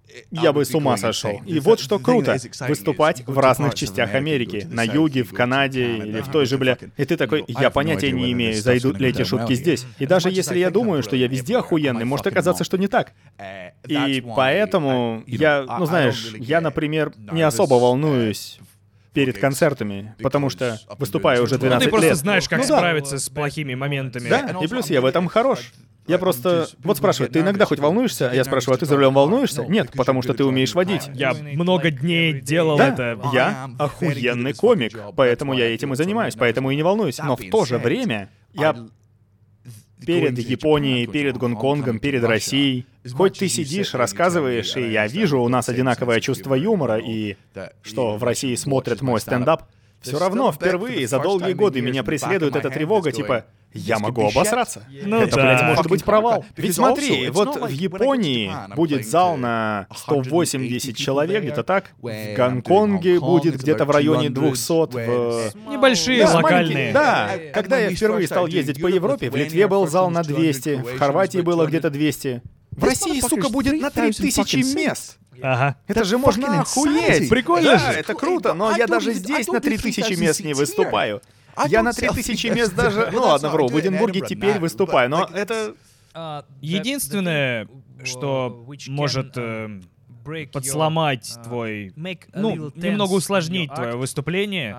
я бы с ума сошел. И вот что круто — выступать в разных частях Америки. На юге, в Канаде или в той же, И ты такой, я понятия не имею, зайдут ли эти шутки здесь. И даже если я думаю, что я везде охуенный, может оказаться, что не так. И поэтому я, я, например, не особо волнуюсь перед концертами, потому что выступаю уже 12 лет. Ты просто знаешь, как справиться с плохими моментами. Да, и плюс я в этом хорош. Я просто... Вот спрашиваю, ты иногда хоть волнуешься? А я спрашиваю, а ты за рулем волнуешься? Нет, потому что ты умеешь водить. Я много дней делал это. Я охуенный комик, поэтому я этим и занимаюсь, поэтому и не волнуюсь. Но в то же время я перед Японией, перед Гонконгом, перед Россией. Хоть ты сидишь, рассказываешь, и я вижу, у нас одинаковое чувство юмора, и что в России смотрят мой стендап, все равно впервые за долгие годы меня преследует эта тревога, типа, я могу обосраться. Это, блядь, может быть провал. Ведь смотри, вот в Японии будет зал на 180 человек, где-то так. В Гонконге будет где-то в районе 200. Небольшие, локальные. Да, когда я впервые стал ездить по Европе, в Литве был зал на 200, в Хорватии было где-то 200. В России, сука, будет на 3000 мест. Ага. Это же можно охуеть. Прикольно же. Да, это круто, но я даже здесь на 3000 мест не выступаю. Я на 3000 мест даже... Ну ладно, вру, в Эдинбурге теперь выступаю, но это... Единственное, что может подсломать твой... немного усложнить твое выступление,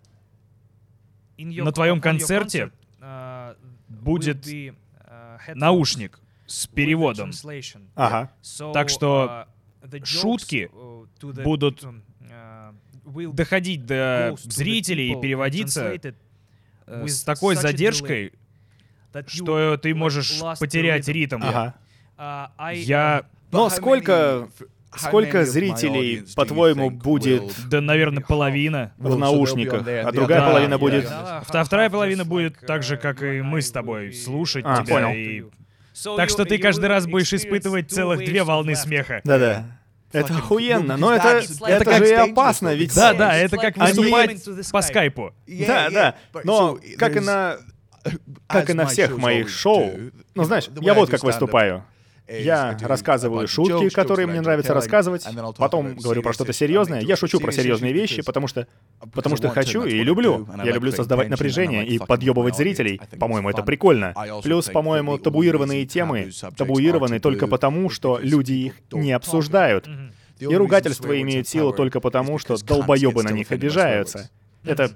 на твоем концерте будет наушник с переводом. Ага. Так что шутки будут доходить до зрителей и переводиться с такой задержкой, что ты можешь потерять ритм. Ага. Но сколько зрителей, по-твоему, будет... Да, наверное, половина. В наушниках, а другая половина будет... Вторая половина будет так же, как и мы с тобой, слушать тебя. Понял. И... Так что ты каждый раз будешь испытывать целых 2 волны смеха. Да-да. Это охуенно, но это же и опасно, ведь... Да, это как выступать по скайпу. Да, но как и на всех моих шоу, ну знаешь, я вот как выступаю. Я рассказываю шутки, которые мне нравится рассказывать, потом говорю про что-то серьезное. Я шучу про серьезные вещи, потому что хочу и люблю. Я люблю создавать напряжение и подъебывать зрителей. По-моему, это прикольно. Плюс, по-моему, табуированные темы табуированы только потому, что люди их не обсуждают. И ругательства имеют силу только потому, что долбоебы на них обижаются. Это...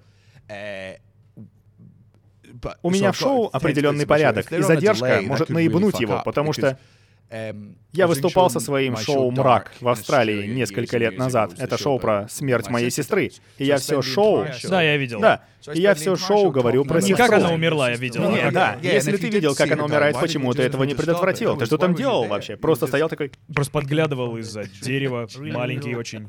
У меня в шоу определенный порядок, и задержка может наебнуть его, потому что я выступал со своим шоу «Мрак» в Австралии несколько лет назад. Это шоу про смерть моей сестры. И я все шоу... Да, я видел. Да. И я все шоу говорю про сестру. Не как она умерла, я видел. Нет, да. Если ты видел, как она умирает, почему ты этого не предотвратил? Ты что там делал вообще? Просто стоял такой... Просто подглядывал из-за дерева. Маленький очень.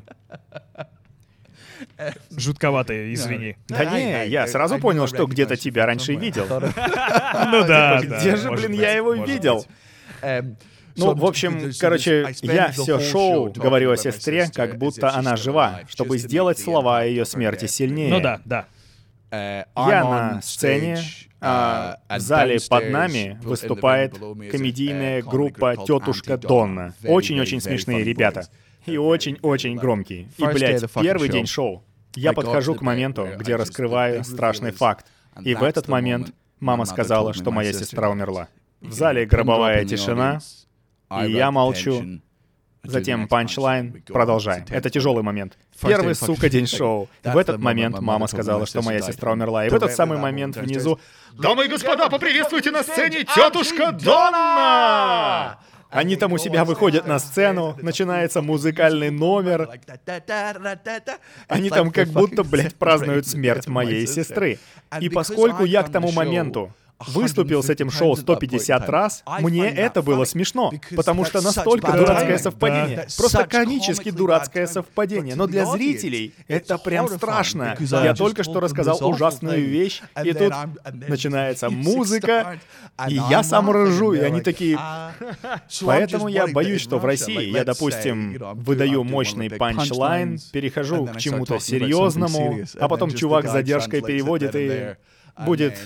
Жутковатый, извини. Да не, я сразу понял, что где-то тебя раньше видел. Ну да, где же, блин, я его видел? Ну, в общем, короче, я все шоу говорю о сестре, как будто она жива, чтобы сделать слова о ее смерти сильнее. Ну да. Я на сцене, а в зале под нами выступает комедийная группа «Тетушка Донна». Очень-очень смешные ребята. И очень-очень громкие. И, блядь, первый день шоу. Я подхожу к моменту, где раскрываю страшный факт. И в этот момент мама сказала, что моя сестра умерла. В зале гробовая тишина, и я молчу. Затем панчлайн. Продолжаем. Это тяжелый момент. Первый, сука, день шоу. В этот момент мама сказала, что моя сестра умерла. И в этот самый момент внизу... «Дамы и господа, поприветствуйте на сцене тетушка Донна!» Они там у себя выходят на сцену, начинается музыкальный номер. Они там как будто, блядь, празднуют смерть моей сестры. И поскольку я к тому моменту выступил с этим шоу 150 раз, мне это было смешно, потому что настолько дурацкое совпадение. Просто комически дурацкое совпадение. Но для зрителей это прям страшно. Я только что рассказал ужасную вещь, и тут начинается музыка, и я сам ржу, и они такие... Поэтому я боюсь, что в России я, допустим, выдаю мощный панчлайн, перехожу к чему-то серьезному, а потом чувак с задержкой переводит и будет...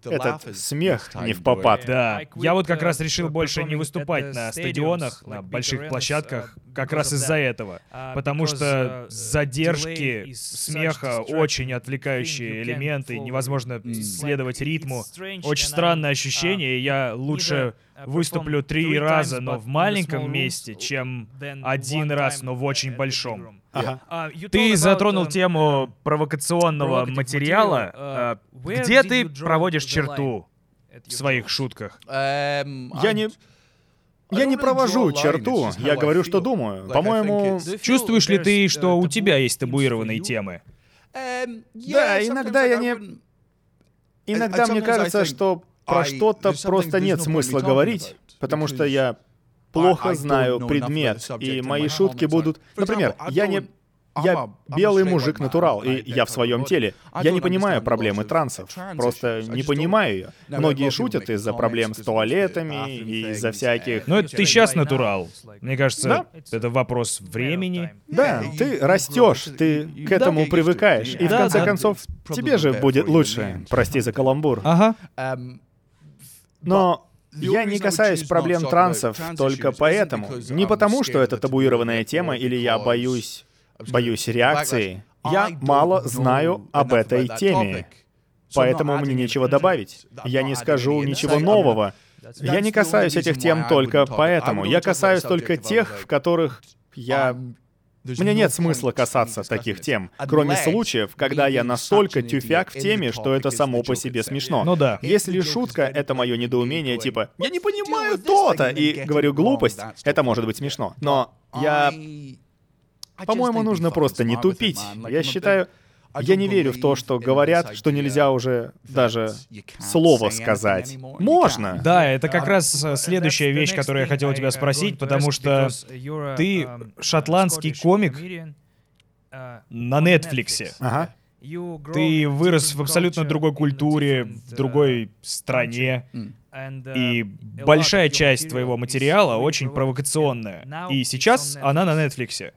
этот смех не впопад. Да, я вот как раз решил больше не выступать на стадионах, на больших площадках, как раз из-за этого. Потому что задержки смеха, очень отвлекающие элементы, невозможно следовать ритму. Очень странное ощущение, и я лучше выступлю 3 раза, но в маленьком месте, чем 1 раз, но в очень большом. Ага. Ты затронул тему провокационного материала. Где ты проводишь черту в своих шутках? Я не провожу черту, я говорю, что думаю. По-моему... Чувствуешь ли ты, что у тебя есть табуированные темы? Да, иногда я не... Иногда мне кажется, что про что-то просто нет смысла говорить, потому что я плохо знаю предмет, и мои шутки будут... Например, я белый мужик-натурал, и я в своем теле. Я не понимаю проблемы трансов. Просто не понимаю ее. Многие шутят из-за проблем с туалетами и из-за всяких... Ну, это ты сейчас натурал. Мне кажется, это вопрос времени. Да, ты растешь, ты к этому привыкаешь, и в конце концов тебе же будет лучше. Прости за каламбур. Ага. Но я не касаюсь проблем трансов только поэтому. Не потому, что это табуированная тема, или я боюсь реакции. Я мало знаю об этой теме, поэтому мне нечего добавить. Я не скажу ничего нового. Я не касаюсь этих тем только поэтому. Я касаюсь только тех, в которых мне нет смысла касаться таких тем, кроме случаев, когда я настолько тюфяк в теме, что это само по себе смешно. Ну да. Если шутка — это мое недоумение, типа «я не понимаю то-то» и говорю глупость, это может быть смешно. Но по-моему, нужно просто не тупить. Я считаю, я не верю в то, что говорят, что нельзя уже даже слово сказать. Можно! Да, это как раз следующая вещь, которую я хотел у тебя спросить, потому что ты шотландский комик на Нетфликсе. Ага. Ты вырос в абсолютно другой культуре, в другой стране. И большая часть твоего материала очень провокационная. И сейчас она на Нетфликсе.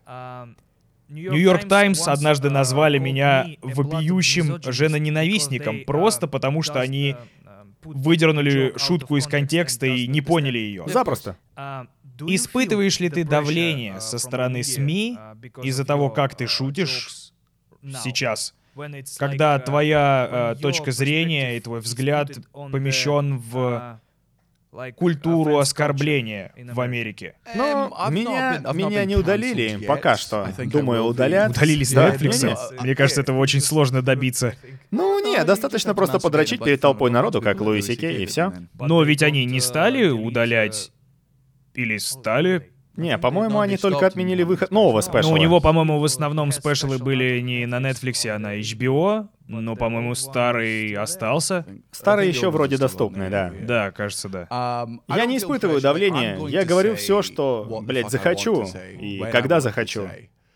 Нью-Йорк Таймс однажды назвали меня вопиющим женоненавистником, просто потому что они выдернули шутку из контекста и не поняли ее. Запросто. Испытываешь ли ты давление со стороны СМИ из-за того, как ты шутишь сейчас? Когда твоя точка зрения и твой взгляд помещен в культуру оскорбления в Америке. Но меня не удалили пока что. Думаю, удалят. Удалили с Netflix? Мне кажется, этого очень сложно добиться. Ну, нет, достаточно просто подрочить перед толпой народу, как Луи Си Кей, и все. Но ведь они не стали удалять... Или стали... Не, по-моему, они только отменили выход нового спешала. Ну, у него, по-моему, в основном спешалы были не на Netflix, а на HBO, но, по-моему, старый остался. Старый еще вроде доступный, да. Да, кажется, да. Я не испытываю давления, я говорю все, что, блядь, захочу, и когда захочу.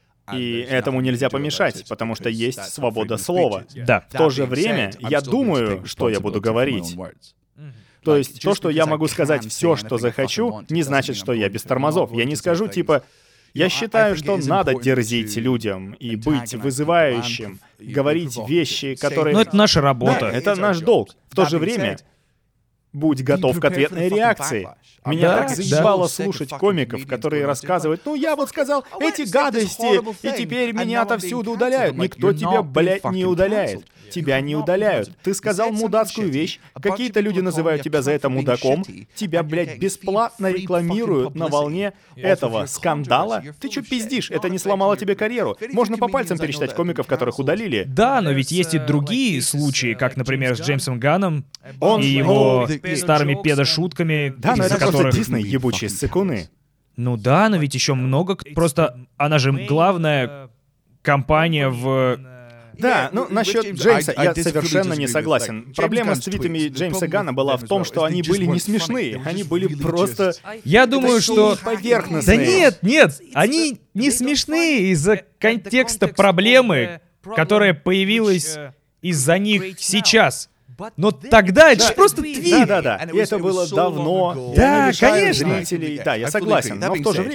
И этому нельзя помешать, потому что есть свобода слова. Да. В то же время я думаю, что я буду говорить. То есть то, что я могу сказать все, что захочу, не значит, что я без тормозов. Я не скажу типа, я считаю, что надо дерзить людям и быть вызывающим, говорить вещи, которые... Но это наша работа. Да, это наш долг. В то же время будь готов к ответной реакции. Меня так заебало слушать комиков, которые рассказывают, ну я вот сказал эти гадости, и теперь меня отовсюду удаляют. Никто тебя, блядь, не удаляет. Тебя не удаляют. Ты сказал мудацкую вещь, какие-то люди называют тебя за это мудаком, тебя, блядь, бесплатно рекламируют на волне этого скандала. Ты чё пиздишь? Это не сломало тебе карьеру. Можно по пальцам пересчитать комиков, которых удалили. Да, но ведь есть и другие случаи, как, например, с Джеймсом Ганном и его старыми педошутками, да, но это которых... просто Дисней, ебучие ссыкуны. Ну да, но ведь еще много... Просто она же главная компания в... Да, ну насчет Джеймса я совершенно не согласен. Проблема с твитами Джеймса Ганна была в том, что они были не смешные. Они были просто... Я думаю, что... Поверхностные. Да нет, они не смешные из-за контекста проблемы, которая появилась из-за них сейчас. Но тогда это же просто твит. Да. И это было давно. Да, я не конечно. Зрителей. Да, я согласен. Но в то же время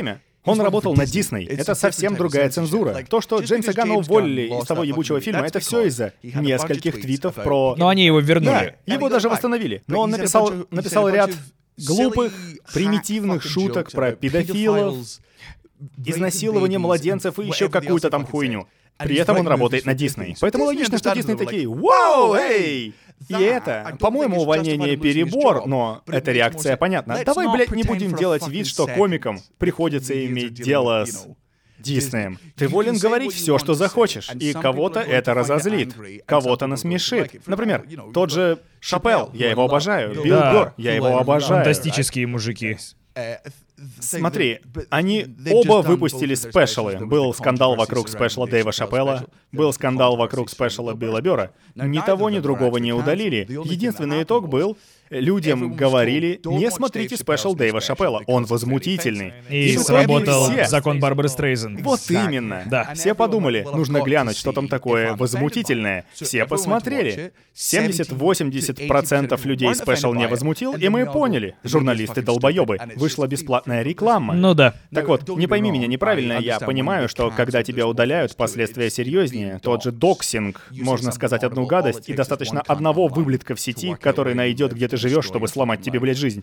Он работал на Дисней. Это совсем другая цензура. То, что Джеймса Ганна уволили из того ебучего фильма, это все из-за нескольких твитов про... Но они его вернули. Да, его даже восстановили. Но он написал ряд глупых, примитивных шуток про педофилов, изнасилование младенцев и еще какую-то там хуйню. При этом он работает на Дисней. Поэтому логично, что Дисней такие: «Вау, эй!» И это, по-моему, увольнение перебор, но эта реакция понятна. Давай, блядь, не будем делать вид, что комикам приходится иметь дело с Диснеем. Ты волен говорить все, что захочешь, и кого-то это разозлит, кого-то насмешит. Например, тот же Шапелл, я его обожаю, Билл Гор, я его обожаю. Фантастические мужики. Смотри, они оба выпустили спешалы. Был скандал вокруг спешала Дэйва Шапелла, был скандал вокруг спешала Билла Бёрра. Ни того, ни другого не удалили. Единственный итог был: людям говорили: не смотрите спешал Дэйва Шапелла, он возмутительный. И сработал закон Барбары Стрейзен. Вот именно. Да. Все подумали, нужно глянуть, что там такое возмутительное. Все посмотрели. 70-80% людей спешал не возмутил, и мы поняли. Журналисты-долбоёбы. Вышла бесплатная реклама. Ну да. Так вот, не пойми меня неправильно, я понимаю, что когда тебя удаляют, последствия серьезнее. Тот же доксинг, можно сказать одну гадость, и достаточно одного выблядка в сети, который найдет, где ты живешь, чтобы сломать тебе, блядь, жизнь.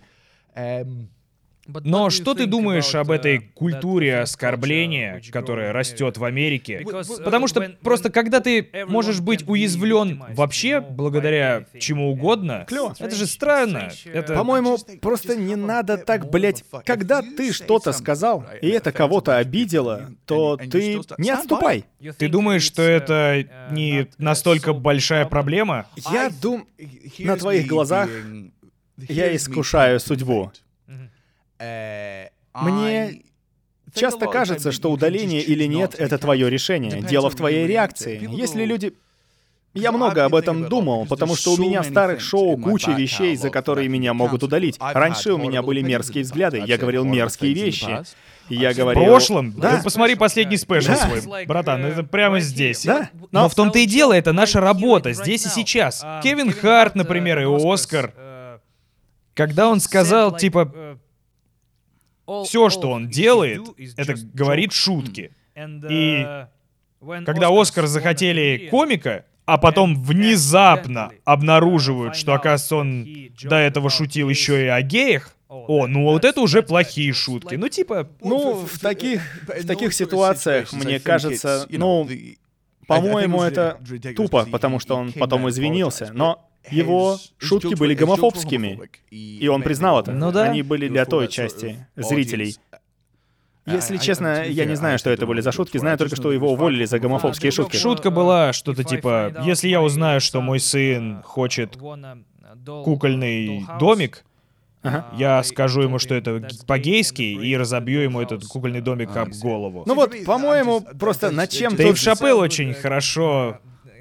Но что ты думаешь об этой культуре оскорбления, которая растет в Америке? Потому что просто когда ты можешь быть уязвлен вообще благодаря чему угодно, это же странно. Это... По-моему, просто не надо так, блядь, когда ты что-то сказал, и это кого-то обидело, то ты не отступай. Ты думаешь, что это не настолько большая проблема? Я думаю, на твоих глазах я искушаю судьбу. Мне часто кажется, что удаление или нет — это твое решение. Дело в твоей реакции. Если люди... Я много об этом думал, потому что у меня в старых шоу куча вещей, за которые меня могут удалить. Раньше у меня были мерзкие взгляды, я говорил мерзкие вещи. Я говорил... В прошлом? Да. Ты посмотри последний спешл свой. Братан, это прямо здесь. Да. Но в том-то и дело, это наша работа, здесь и сейчас. Кевин Харт, например, и Оскар. Когда он сказал, типа... Все, что он делает, это говорит шутки. И когда Оскар захотели комика, а потом внезапно обнаруживают, что, оказывается, он до этого шутил еще и о геях, ну вот это уже плохие шутки. Ну типа... Ну, в таких ситуациях, мне кажется, по-моему, это тупо, потому что он потом извинился, но... Его шутки были гомофобскими, и он признал это. Ну да. Они были для той части зрителей. Если честно, я не знаю, что это были за шутки, знаю только, что его уволили за гомофобские шутки. Шутка была что-то типа: если я узнаю, что мой сын хочет кукольный домик, я скажу ему, что это по-гейски, и разобью ему этот кукольный домик об голову. Ну вот, по-моему, просто над чем... Дэйв Шапелл очень хорошо...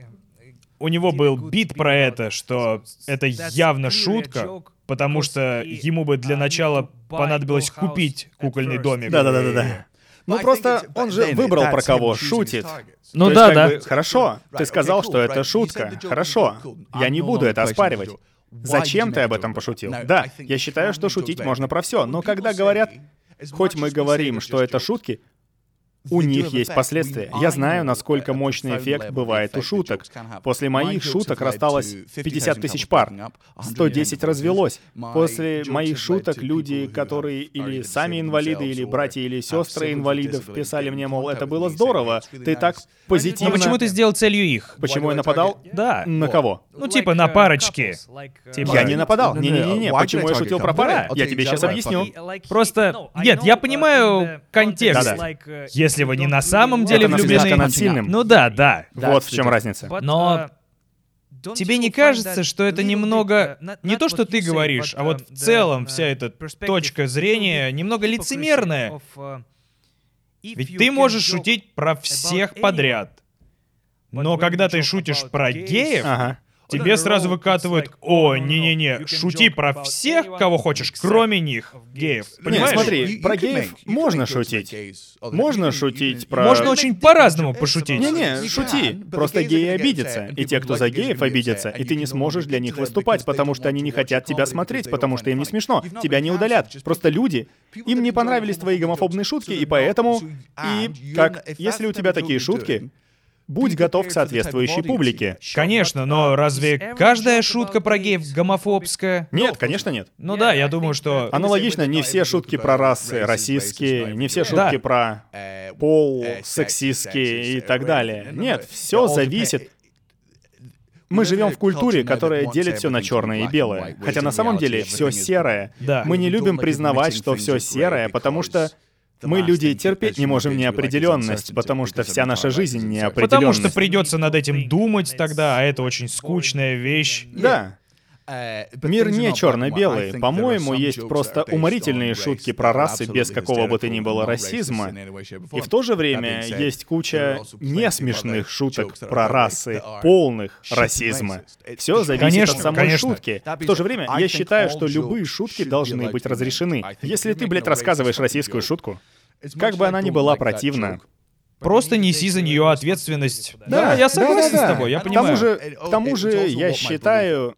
У него был бит про это, что это явно шутка, потому что ему бы для начала понадобилось купить кукольный домик. Да. Ну просто он же выбрал, про кого шутит. Ну да. Хорошо, ты сказал, что это шутка. Хорошо, я не буду это оспаривать. Зачем ты об этом пошутил? Да, я считаю, что шутить можно про все, но когда говорят, хоть мы говорим, что это шутки, у них есть последствия. Я знаю, насколько мощный эффект бывает у шуток. После моих шуток рассталось 50 тысяч пар. 110 развелось. После моих шуток люди, которые или сами инвалиды, или братья, или сестры инвалидов, писали мне, мол, это было здорово, ты так позитивно... Но почему ты сделал целью их? Почему я нападал? Да. На кого? Ну типа на парочки. Я не нападал. Не-не-не. Почему я шутил про пары? Я тебе сейчас объясню. Просто... Нет, я понимаю контекст. Да-да. Если вы не на самом деле влюблены... над сильным. Ну да. Вот в чем разница. Но тебе не кажется, что это немного... Не то, что ты говоришь, а вот в целом вся эта точка зрения немного лицемерная? Ведь ты можешь шутить про всех подряд. Но когда ты шутишь про геев, тебе сразу выкатывают: о, не-не-не, шути про всех, кого хочешь, кроме них, геев. Понимаешь? Нет, смотри, про геев можно шутить. Можно шутить про... Можно очень по-разному пошутить. Не-не, шути. Просто геи обидятся. И те, кто за геев, обидятся. И ты не сможешь для них выступать, потому что они не хотят тебя смотреть, потому что им не смешно. Тебя не удалят. Просто люди, им не понравились твои гомофобные шутки, и поэтому... И, как, если у тебя такие шутки, будь готов к соответствующей публике. Конечно, но разве каждая шутка про геев гомофобская? Нет, конечно нет. Ну да, я думаю, что... Аналогично, не все шутки про расы расистские, не все шутки про пол сексистские и так далее. Нет, все зависит. Мы живем в культуре, которая делит все на черное и белое. Хотя на самом деле все серое. Да. Мы не любим признавать, что все серое, потому что мы, люди, терпеть не можем неопределенность, потому что вся наша жизнь неопределенность. Потому что придется над этим думать тогда, а это очень скучная вещь. Да. Мир не черно-белый. По-моему, есть просто уморительные шутки про расы без какого бы то ни было расизма. И в то же время есть куча несмешных шуток про расы, полных расизма. Все зависит от самой шутки. В то же время я считаю, что любые шутки должны быть разрешены. Если ты, блядь, рассказываешь российскую шутку, как бы она ни была противна, просто неси за нее ответственность. Да, я согласен с тобой, я понимаю. К тому же, я считаю...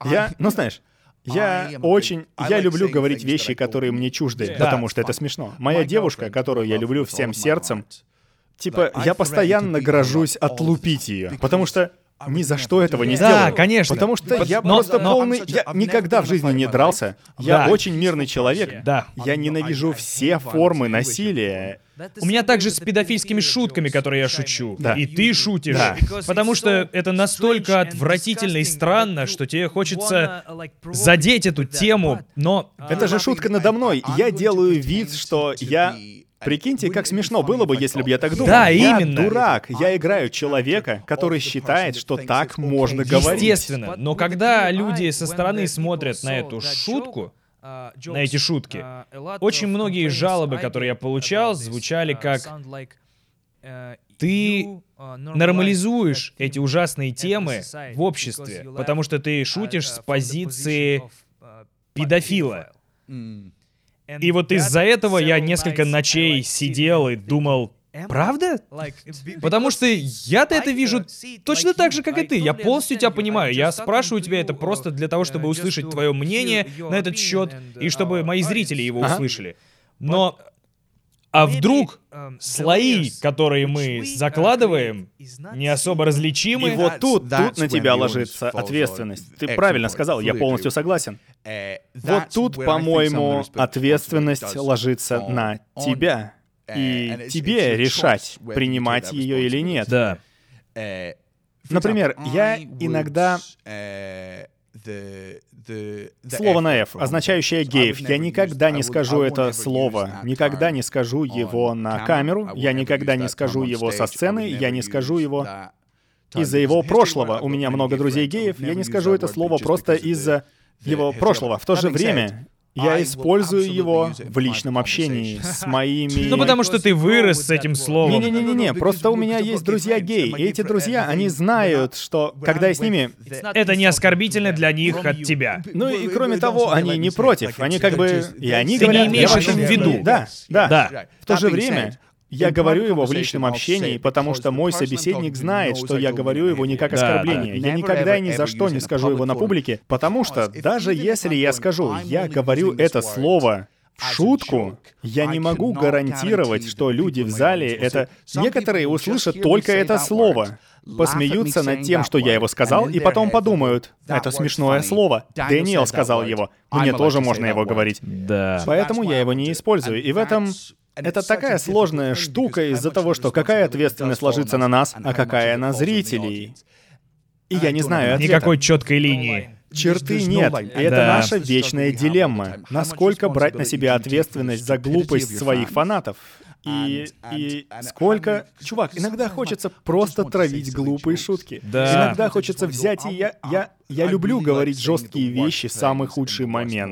Я люблю говорить вещи, которые мне чужды, потому что это смешно. Моя девушка, которую я люблю всем сердцем, типа, я постоянно грожусь отлупить ее, потому что ни за что этого не сделаю. Да, конечно. Потому что я просто полный... Я никогда в жизни не дрался. Я очень мирный человек. Да. Я ненавижу все формы насилия. У меня также с педофильскими шутками, которые я шучу. Да. И ты шутишь. Да. Потому что это настолько отвратительно и странно, что тебе хочется задеть эту тему, но... Это же шутка надо мной. Я делаю вид, что я... Прикиньте, как смешно было бы, если бы я так думал. Да, я именно. Дурак. Я играю человека, который считает, что так можно говорить. Естественно. Но когда люди со стороны смотрят на эту шутку, на эти шутки, очень многие жалобы, которые я получал, звучали как: ты нормализуешь эти ужасные темы в обществе, потому что ты шутишь с позиции педофила. И вот из-за этого я несколько ночей сидел и думал: правда? Потому что я-то это вижу точно так же, как и ты. Я полностью тебя понимаю. Я спрашиваю тебя это просто для того, чтобы услышать твое мнение на этот счет, и чтобы мои зрители его услышали. Но... А вдруг слои, которые мы закладываем, не особо различимы? И вот тут на тебя ложится ответственность. Ты правильно сказал, я полностью согласен. Вот тут, по-моему, ответственность ложится на тебя. И тебе решать, принимать ее или нет. Да. Например, я иногда... Слово на F, означающее геев. Я никогда не скажу это слово, никогда не скажу его на камеру, я никогда не скажу его со сцены, я не скажу его из-за его прошлого. У меня много друзей геев, я не скажу это слово просто из-за его прошлого. В то же время я использую его в личном общении с моими... Ну, потому что ты вырос с этим словом. Не-не-не, просто у меня есть друзья геи, и эти друзья, они знают, что когда я с ними... Это не оскорбительно для них от тебя. Ну и кроме того, они не против, они как бы... И они Ты говорят... не имеешь я это в вообще- виду. Да. В то же время... Я говорю его в личном общении, потому что мой собеседник знает, что я говорю его не как оскорбление. Я никогда и ни за что не скажу его на публике, потому что даже если я скажу, я говорю это слово в шутку, я не могу гарантировать, что люди в зале это... Некоторые услышат только это слово, посмеются над тем, что я его сказал, и потом подумают, это смешное слово. Дэниел сказал его, мне тоже можно его говорить. Да. Поэтому я его не использую, и в этом... Это такая сложная штука из-за того, что какая ответственность ложится на нас, а какая на зрителей. И я не знаю ответа. Никакой четкой линии. Черты нет, и это Да. наша вечная дилемма. Насколько брать на себя ответственность за глупость своих фанатов? И сколько... Чувак, иногда хочется просто травить глупые шутки. Да. Иногда хочется взять и я люблю говорить жесткие вещи в самый худший момент.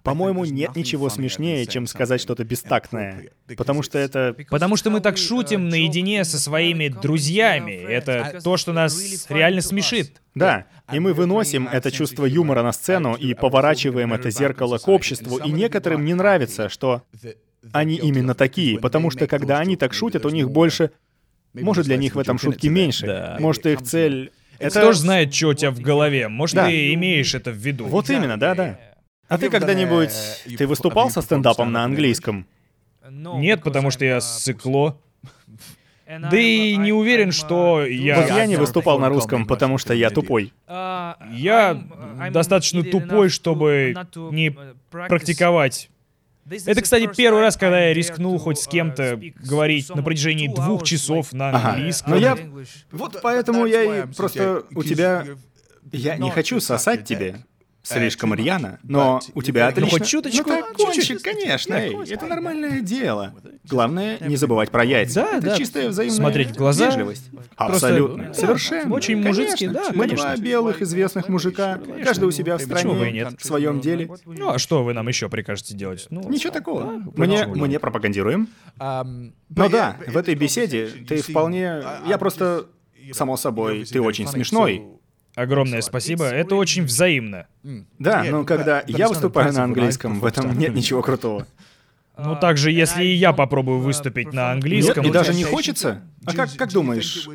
По-моему, нет ничего смешнее, чем сказать что-то бестактное. Потому что это... Потому что мы так шутим наедине со своими друзьями. Это то, что нас реально смешит. Да, и мы выносим это чувство юмора на сцену и поворачиваем это зеркало к обществу, и некоторым не нравится, что они именно такие, потому что когда они так шутят, у них больше... Может, для них в этом шутки меньше. Да. Может, их цель... Это... Кто ж знает, что у тебя в голове? Может, Да. ты имеешь это в виду? Вот именно, да-да. А ты когда-нибудь... Ты выступал со стендапом на английском? Нет, потому что я ссыкло. Да и не уверен, что я... Вот я не выступал на русском, потому что я тупой. Я достаточно тупой, чтобы не практиковать. Это, кстати, первый раз, когда я рискнул хоть с кем-то говорить на протяжении 2 часов на английском. Но я... Вот поэтому я и просто... У тебя... Я не хочу сосать тебе слишком рьяно, но у тебя отлично... хоть чуточку, Ну, так кончик, чуть-чуть. конечно, эй, это нормальное дело. Главное, не забывать про яйца. Да, это да. чистая взаимная Смотреть в глаза. вежливость. Абсолютно. да, Совершенно. очень мужицки, Конечно. да, Мы конечно. 2 белых известных мужика, каждый у себя в Почему бы и стране, нет? в своем деле. Ну, а что вы нам еще прикажете делать? Ну, Ничего такого. почему Мы не пропагандируем. Но да, в этой беседе ты вполне... Я просто... Само собой, ты очень смешной. огромное спасибо. Это очень взаимно. Да, но когда я выступаю на английском, в этом нет ничего крутого. Ну, также, если и я попробую выступить на Нет, английском... и даже не хочется. А как думаешь,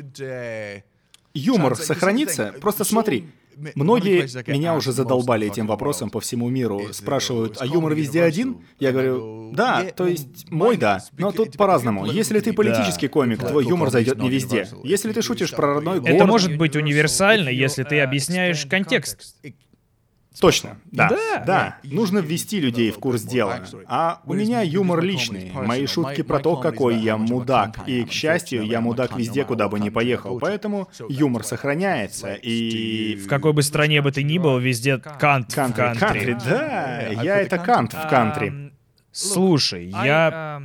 юмор сохранится? Просто смотри. Многие меня уже задолбали этим вопросом по всему миру. Спрашивают, а юмор везде один? Я говорю, да, то есть мой да. Но тут по-разному. Если ты политический комик, твой юмор зайдет не везде. Если ты шутишь про родной город... Это может быть универсально, если ты объясняешь контекст. Точно, да. Да. Да, нужно ввести людей в курс дела. А у меня юмор личный. Мои шутки про то, какой я мудак. И, к счастью, я мудак везде, куда бы ни поехал. Поэтому юмор сохраняется. И... В какой бы стране бы ты ни был, везде кант в Кантри, кантри. да. Я это кант в кантри. Слушай, я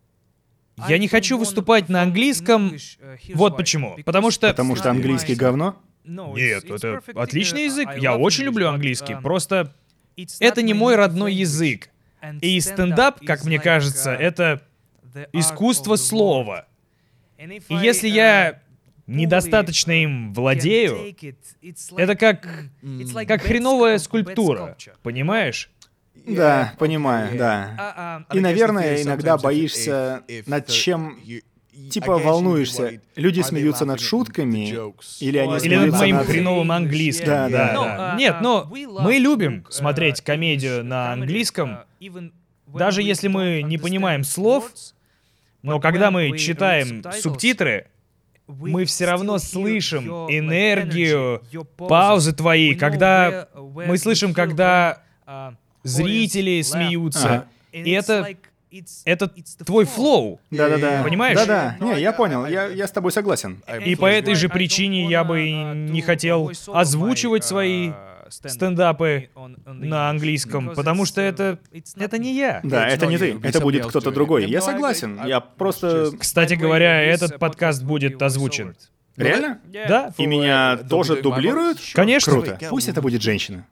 не хочу выступать на английском. Вот почему. Потому что английский говно? Нет, это отличный язык. Я очень люблю английский. Просто это не мой родной язык. И стендап, как мне кажется, это искусство слова. И если я недостаточно им владею, это как хреновая скульптура, понимаешь? Да, понимаю, да. И, наверное, иногда боишься, над чем... Типа волнуешься. Люди смеются над шутками, или они Или над смеются моим над... хреновым английским. Да. Нет, но мы любим смотреть комедию на английском, даже если мы не понимаем слов, но когда мы читаем субтитры, мы все равно слышим энергию, паузы твои, когда мы слышим, когда зрители смеются. И это твой флоу. Да-да-да. Понимаешь? Да-да. Не, я понял. Я с тобой согласен. И по этой же причине я бы не хотел озвучивать свои стендапы на английском, потому что это не я. Да, это не ты. Это будет кто-то другой. Я согласен. Я просто... Кстати говоря, этот подкаст будет озвучен. Реально? Да? И меня тоже дублируют? Конечно. Круто. Пусть это будет женщина.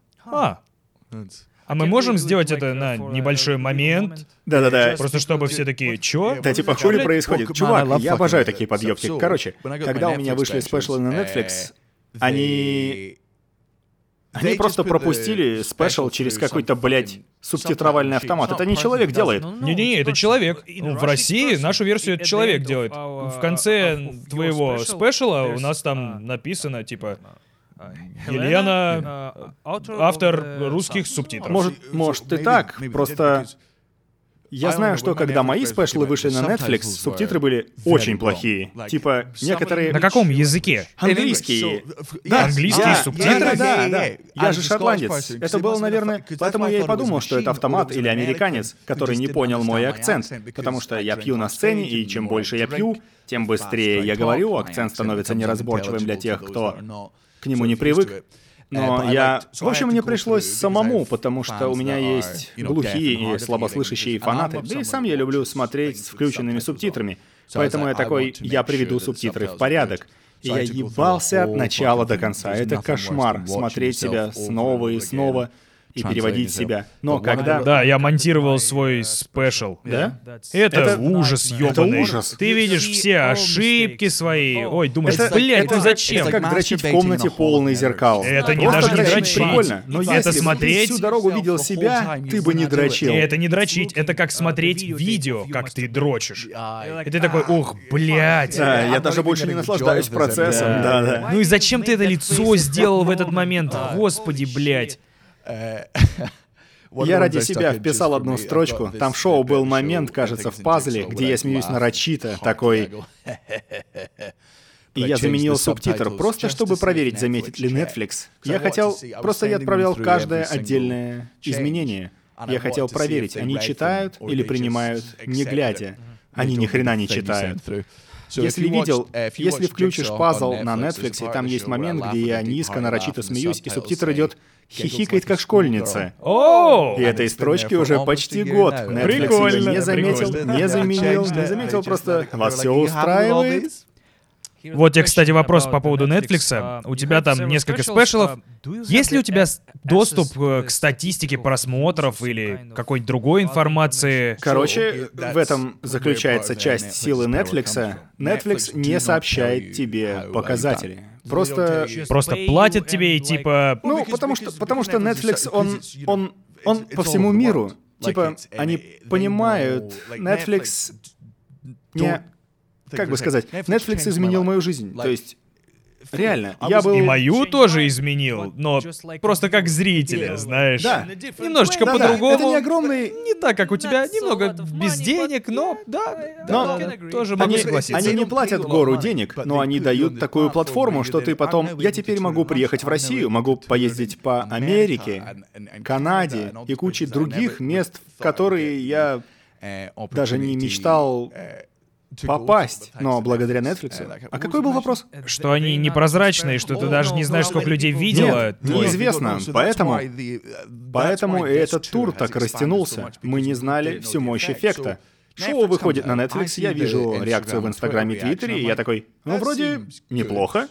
А мы можем сделать это на небольшой момент? Да-да-да. Просто чтобы все такие, чё? Да типа хули происходит? Чувак, я обожаю такие подъебки. Короче, когда у меня вышли спешлы на Netflix, они просто пропустили спешл через какой-то, блядь, субтитровальный автомат. Это не человек делает. Не-не-не, это человек. Ну, в России нашу версию это человек делает. В конце твоего спешала у нас там написано, типа... Елена, автор русских субтитров. Может и так, просто... Я знаю, что когда мои спешлы вышли на Netflix, субтитры были очень плохие. Типа, некоторые... На каком языке? Английские. Да, английские субтитры? Да. Я же шотландец. Это было, наверное... Поэтому я и подумал, что это автомат или американец, который не понял мой акцент. Потому что я пью на сцене, и чем больше я пью, тем быстрее я говорю, акцент становится неразборчивым для тех, кто к нему не привык. Но в общем, мне пришлось самому, потому что у меня есть глухие и слабослышащие фанаты. Да и сам я люблю смотреть с включенными субтитрами. Поэтому я такой, я приведу субтитры в порядок. И я ебался от начала до конца. Это кошмар, смотреть себя снова и снова. и переводить себя. Но когда... Да, я монтировал свой спешл. Да? Это ужас ёбаный. Это ужас. Ты видишь все ошибки свои. Ой, думаешь, Это- блядь, ну это зачем? как дрочить в комнате полной зеркал. Это не Просто даже не дрочить дрочить. прикольно. Но Это если бы смотреть- ты всю дорогу видел себя, ты бы не дрочил. И это не дрочить, это как смотреть видео, как ты дрочишь. И ты такой, ух, блядь. Да, я даже больше не наслаждаюсь процессом. Да. Ну и зачем ты это лицо сделал в этот момент? Господи, блядь. Я ради себя вписал одну строчку. Там в шоу был момент, кажется, в пазле, где я смеюсь нарочито, такой... И я заменил субтитр, просто чтобы проверить, заметит ли Netflix. Я хотел... Просто я отправлял в каждое отдельное изменение. Я хотел проверить, они читают или принимают, не глядя. Они ни хрена не читают. Если включишь пазл на Netflix, и там есть момент, где я низко нарочито смеюсь, и субтитр идет «хихикает как школьница». О! И этой строчки уже почти год. Netflix Прикольно, её не заметил, прикольно. не заменил, не заметил, просто «вас все устраивает?» Вот тебе, кстати, вопрос по поводу Netflix. У тебя там несколько спешалов. Есть ли у тебя доступ к статистике просмотров или какой-нибудь другой информации? Короче, в этом заключается часть силы Netflix. Netflix не сообщает тебе показатели. Просто... Просто платят тебе и типа... Ну, потому что Netflix, он по всему миру. Типа, они понимают, Netflix не... Как бы сказать, Netflix изменил мою жизнь. То есть, реально, я был... И мою тоже изменил, но просто как зрителя, знаешь. Да. Немножечко Да-да, по-другому. это не огромный... Не так, как у тебя, немного без денег, но да, Но тоже могу согласиться. Они не платят гору денег, но они дают такую платформу, что ты потом... Я теперь могу приехать в Россию, могу поездить по Америке, Канаде и куче других мест, в которые я даже не мечтал попасть, но благодаря Netflix. А какой был вопрос? Что они непрозрачные, что ты даже не знаешь, сколько людей видело. Нет, неизвестно, поэтому и этот тур так растянулся. Мы не знали всю мощь эффекта. Шоу выходит на Netflix, я вижу реакцию в Инстаграме и Твиттере, и я такой, ну, вроде неплохо.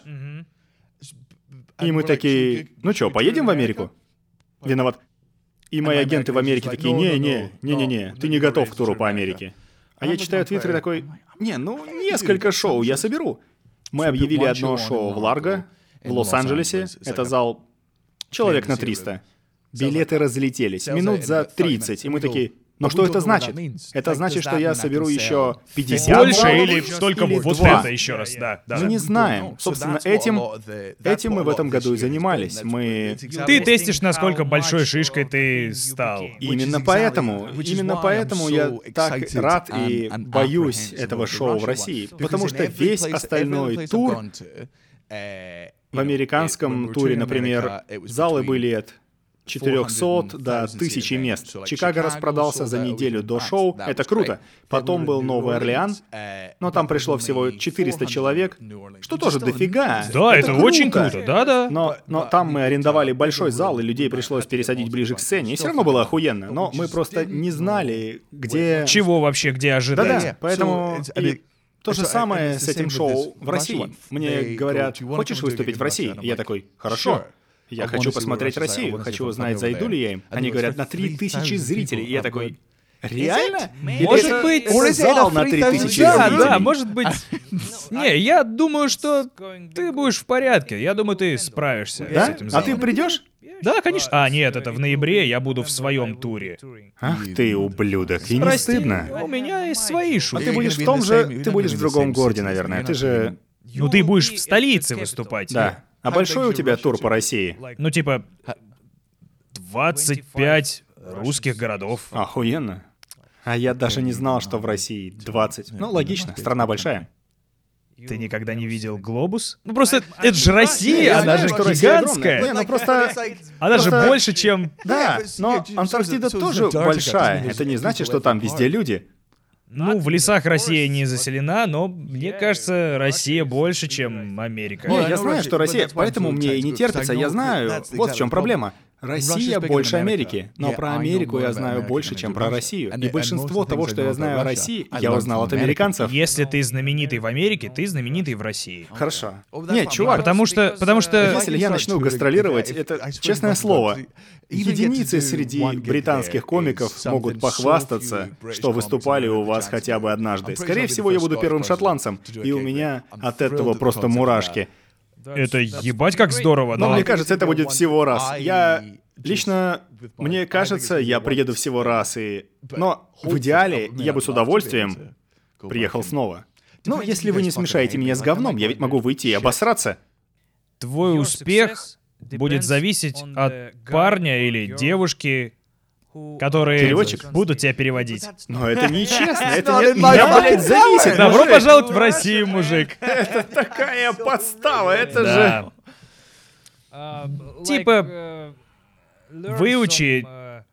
И мы такие, ну чё, поедем в Америку? Виноват. И мои агенты в Америке такие, не-не-не, ты не готов к туру по Америке. А я читаю Твиттер и такой, несколько шоу я соберу. Мы объявили одно шоу в Ларго, в Лос-Анджелесе. Это зал человек на 300. Билеты разлетелись. Минут за 30. И мы такие, но что это значит? Это значит, что я соберу еще 50 Больше баллов или только или вот 2. это еще раз, да. Мы не знаем. Собственно, этим мы в этом году и занимались. Мы... Ты тестишь, насколько большой шишкой ты стал. Именно поэтому я так рад и боюсь этого шоу в России. Потому что весь остальной тур, в американском туре, например, залы были от 400 до 1000 мест. Чикаго распродался за неделю до шоу, это круто. Потом был Новый Орлеан, но там пришло всего 400 человек, что тоже дофига. Да, это очень круто, да-да. Но там мы арендовали большой зал, и людей пришлось пересадить ближе к сцене, и все равно было охуенно. Но мы просто не знали, где... Чего вообще, где ожидать. Да-да, поэтому... И то же самое с этим шоу в России. Мне говорят, хочешь выступить в России? Я такой, хорошо. Я хочу посмотреть Россию, хочу узнать, зайду ли я им. Они говорят, на 3000 зрителей. И я такой, реально? Может быть, зал на 3000 Да, зрителей. да, может быть. Не, я думаю, что ты будешь в порядке. Я думаю, ты справишься с Да? этим А залом. ты придешь? Да, конечно. А, нет, это в ноябре, я буду в своем туре. Ах ты, ублюдок, и не Прости, стыдно. у меня есть свои А шутки. ты будешь в том же... Ты будешь в другом городе, наверное. Ты же... Ну, ты будешь в столице выступать. Да. А большой у тебя тур по России? Ну, типа, 25 русских городов. Охуенно. А я даже не знал, что в России 20. Ну, логично, страна большая. Ты никогда не видел глобус? Ну, просто это же Россия, Я она знаю, же что Россия огромная. гигантская. Не, ну просто... Она же просто- больше, чем... Да, но Антарктида тоже большая. Это не значит, что там везде люди. Ну, в лесах Россия не заселена, но мне кажется, Россия больше, чем Америка. Не, я знаю, что Россия, поэтому мне и не терпится, я знаю. Вот в чем проблема. Россия больше Америки, но про Америку я знаю больше, чем про Россию. И большинство того, что я знаю о России, я узнал от американцев. Если ты знаменитый в Америке, ты знаменитый в России. Хорошо. Нет, чувак. Потому что... Если я начну гастролировать, это, честное слово, единицы среди британских комиков могут похвастаться, что выступали у вас хотя бы однажды. Скорее всего, я буду первым шотландцем, и у меня от этого просто мурашки. Это ебать как здорово, но... мне кажется, это будет всего раз. Мне кажется, я приеду всего раз, но в идеале я бы с удовольствием приехал снова. Но если вы не смешаете меня с говном, я ведь могу выйти и обосраться. Твой успех будет зависеть от парня или девушки, которые Переводчик? будут тебя переводить. Но это нечестно, это не от меня, блядь, зависит. Добро пожаловать в Россию, мужик. Это такая подстава, это же... Типа, выучи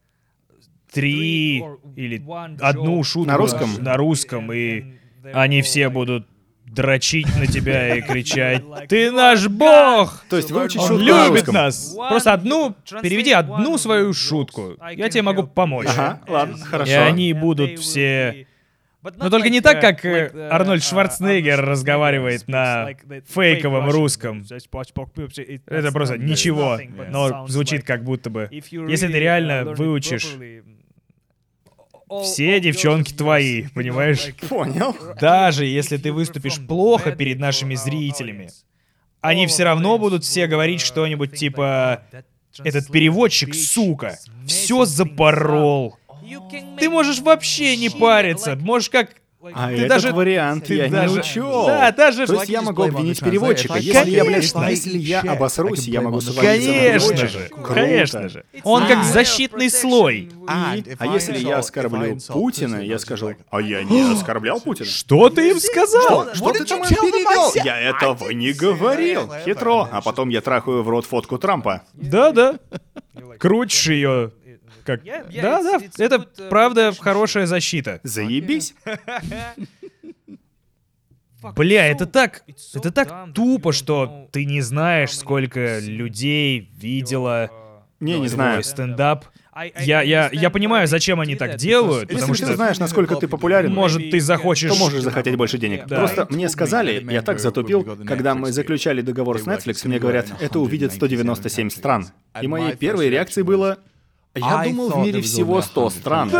3 или 1 шутку на русском, и они все будут дрочить на тебя и кричать: «Ты наш бог!» То есть выучить Он шутку любит нас. Просто переведи одну свою шутку. Я тебе могу помочь. Ага, ладно, хорошо. И они будут все... Но только не так, как Арнольд Шварценеггер разговаривает на фейковом русском. Это просто ничего, но звучит как будто бы. Если ты реально выучишь... Все девчонки твои, понимаешь? Понял. Даже если ты выступишь плохо перед нашими зрителями, они все равно будут все говорить что-нибудь типа: «Этот переводчик, сука, все запорол». Ты можешь вообще не париться, можешь как... А этот вариант я не учел. Да, даже... То есть я могу обвинить переводчика. Если я обосрусь, я могу свалиться на переводчика. Конечно же. Он как защитный слой. А если я оскорблю Путина, я скажу: «А я не оскорблял Путина». Что ты им сказал? Что ты там перевел? Я этого не говорил. Хитро. А потом я трахаю в рот фотку Трампа. Да. Крутишь ее. Как... Да, это правда хорошая защита. Заебись. Бля, это так тупо, что ты не знаешь, сколько людей видело Не знаю. стендап. Я понимаю, зачем они так делают, потому Если что... ты знаешь, насколько ты популярен, Может, ты захочешь... то можешь захотеть больше денег. Да. Просто мне сказали, я так затупил, когда мы заключали договор с Netflix, мне говорят: это увидит 197 стран. И моей первой реакцией было: я думал, в мире всего 100 стран.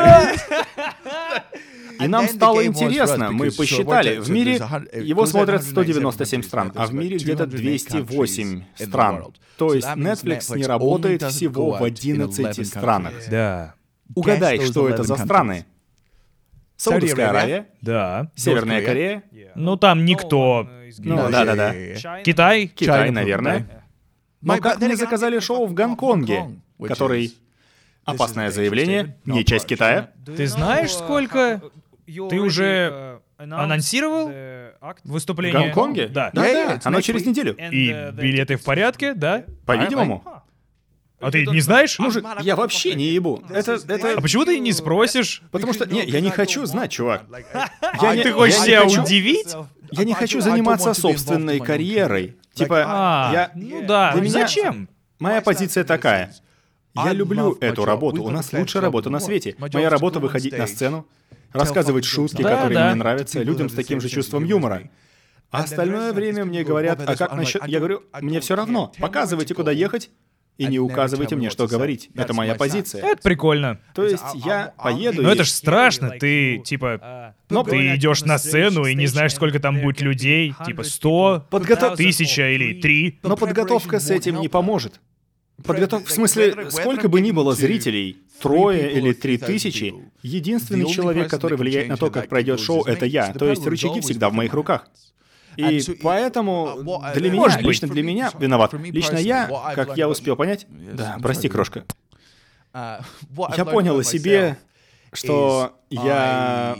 И нам стало интересно, мы посчитали, в мире его смотрят 197 стран, а в мире где-то 208 стран. То есть Netflix не работает всего в 11 странах. Да. Угадай, что это за страны? Саудовская Аравия? Да. Северная Корея? Ну, там никто. Ну, да. Китай? Китай, наверное. Но как мне заказали шоу в Гонконге, который... Опасное заявление, не часть Китая. Ты знаешь, сколько... Ты уже анонсировал выступление? В Гонконге? Да. Да, оно через неделю. И билеты в порядке, да? По-видимому. А ты не знаешь? Мужик, я вообще не ебу. Это... А почему ты не спросишь? Потому что, я не хочу знать, чувак. Ты хочешь себя удивить? Я не хочу заниматься собственной карьерой. Типа, Ну да, для меня- зачем? Моя позиция такая. Я люблю эту работу. У нас лучшая работа на свете. Моя работа — выходить на сцену, рассказывать шутки, Да, которые да. мне нравятся, людям с таким же чувством юмора. А остальное время мне говорят: а как насчет... Я говорю: мне все равно. Показывайте, куда ехать, и не указывайте мне, что говорить. Это моя позиция. Это прикольно. То есть я поеду Но и... это ж страшно, ты, типа... Ты идешь на сцену и не знаешь, сколько там будет людей. Типа 100, 1000 или 3. Но подготовка с этим не поможет. В смысле, сколько бы ни было зрителей, 3 или 3000, единственный человек, который влияет на то, как пройдет шоу, это я. То есть рычаги всегда в моих руках. И поэтому для меня, лично для меня, виноват. Лично я, как я успел понять... Да, прости, крошка. Я понял о себе, что я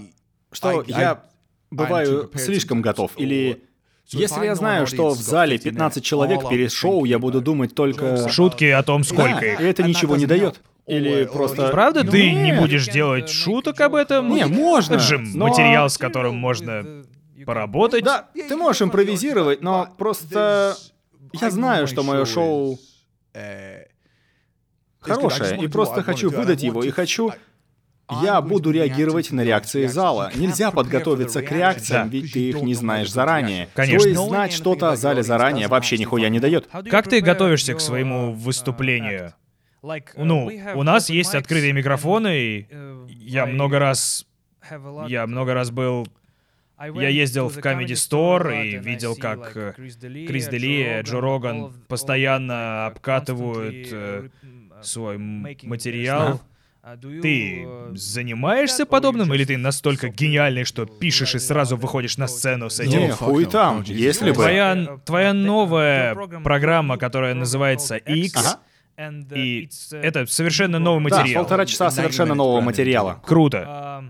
бываю слишком готов. Или если я знаю, что в зале 15 человек перед шоу, я буду думать только... Шутки о том, сколько Да, их. и это ничего не дает. Или просто... Правда, ты не Нет. будешь делать шуток об этом? Не, можно, Это же но- материал, с которым можно поработать. Да, ты можешь импровизировать, но просто... Я знаю, что мое шоу... хорошее, и просто хочу выдать его, и хочу... Я буду реагировать на реакции зала. Нельзя подготовиться к реакциям, ведь ты их не знаешь заранее. Конечно. То есть знать что-то о зале заранее вообще нихуя не дает. Как ты готовишься к своему выступлению? Ну, у нас есть открытые микрофоны, и я много раз был... Я ездил в Comedy Store и видел, как Крис Дели и Джо Роган постоянно обкатывают свой материал. Ты занимаешься подобным, или ты настолько гениальный, что пишешь и сразу выходишь на сцену с этим? Не, хуй там, если бы... Твоя новая программа, которая называется X, и это совершенно новый материал. Да, 1,5 часа совершенно нового материала. Круто.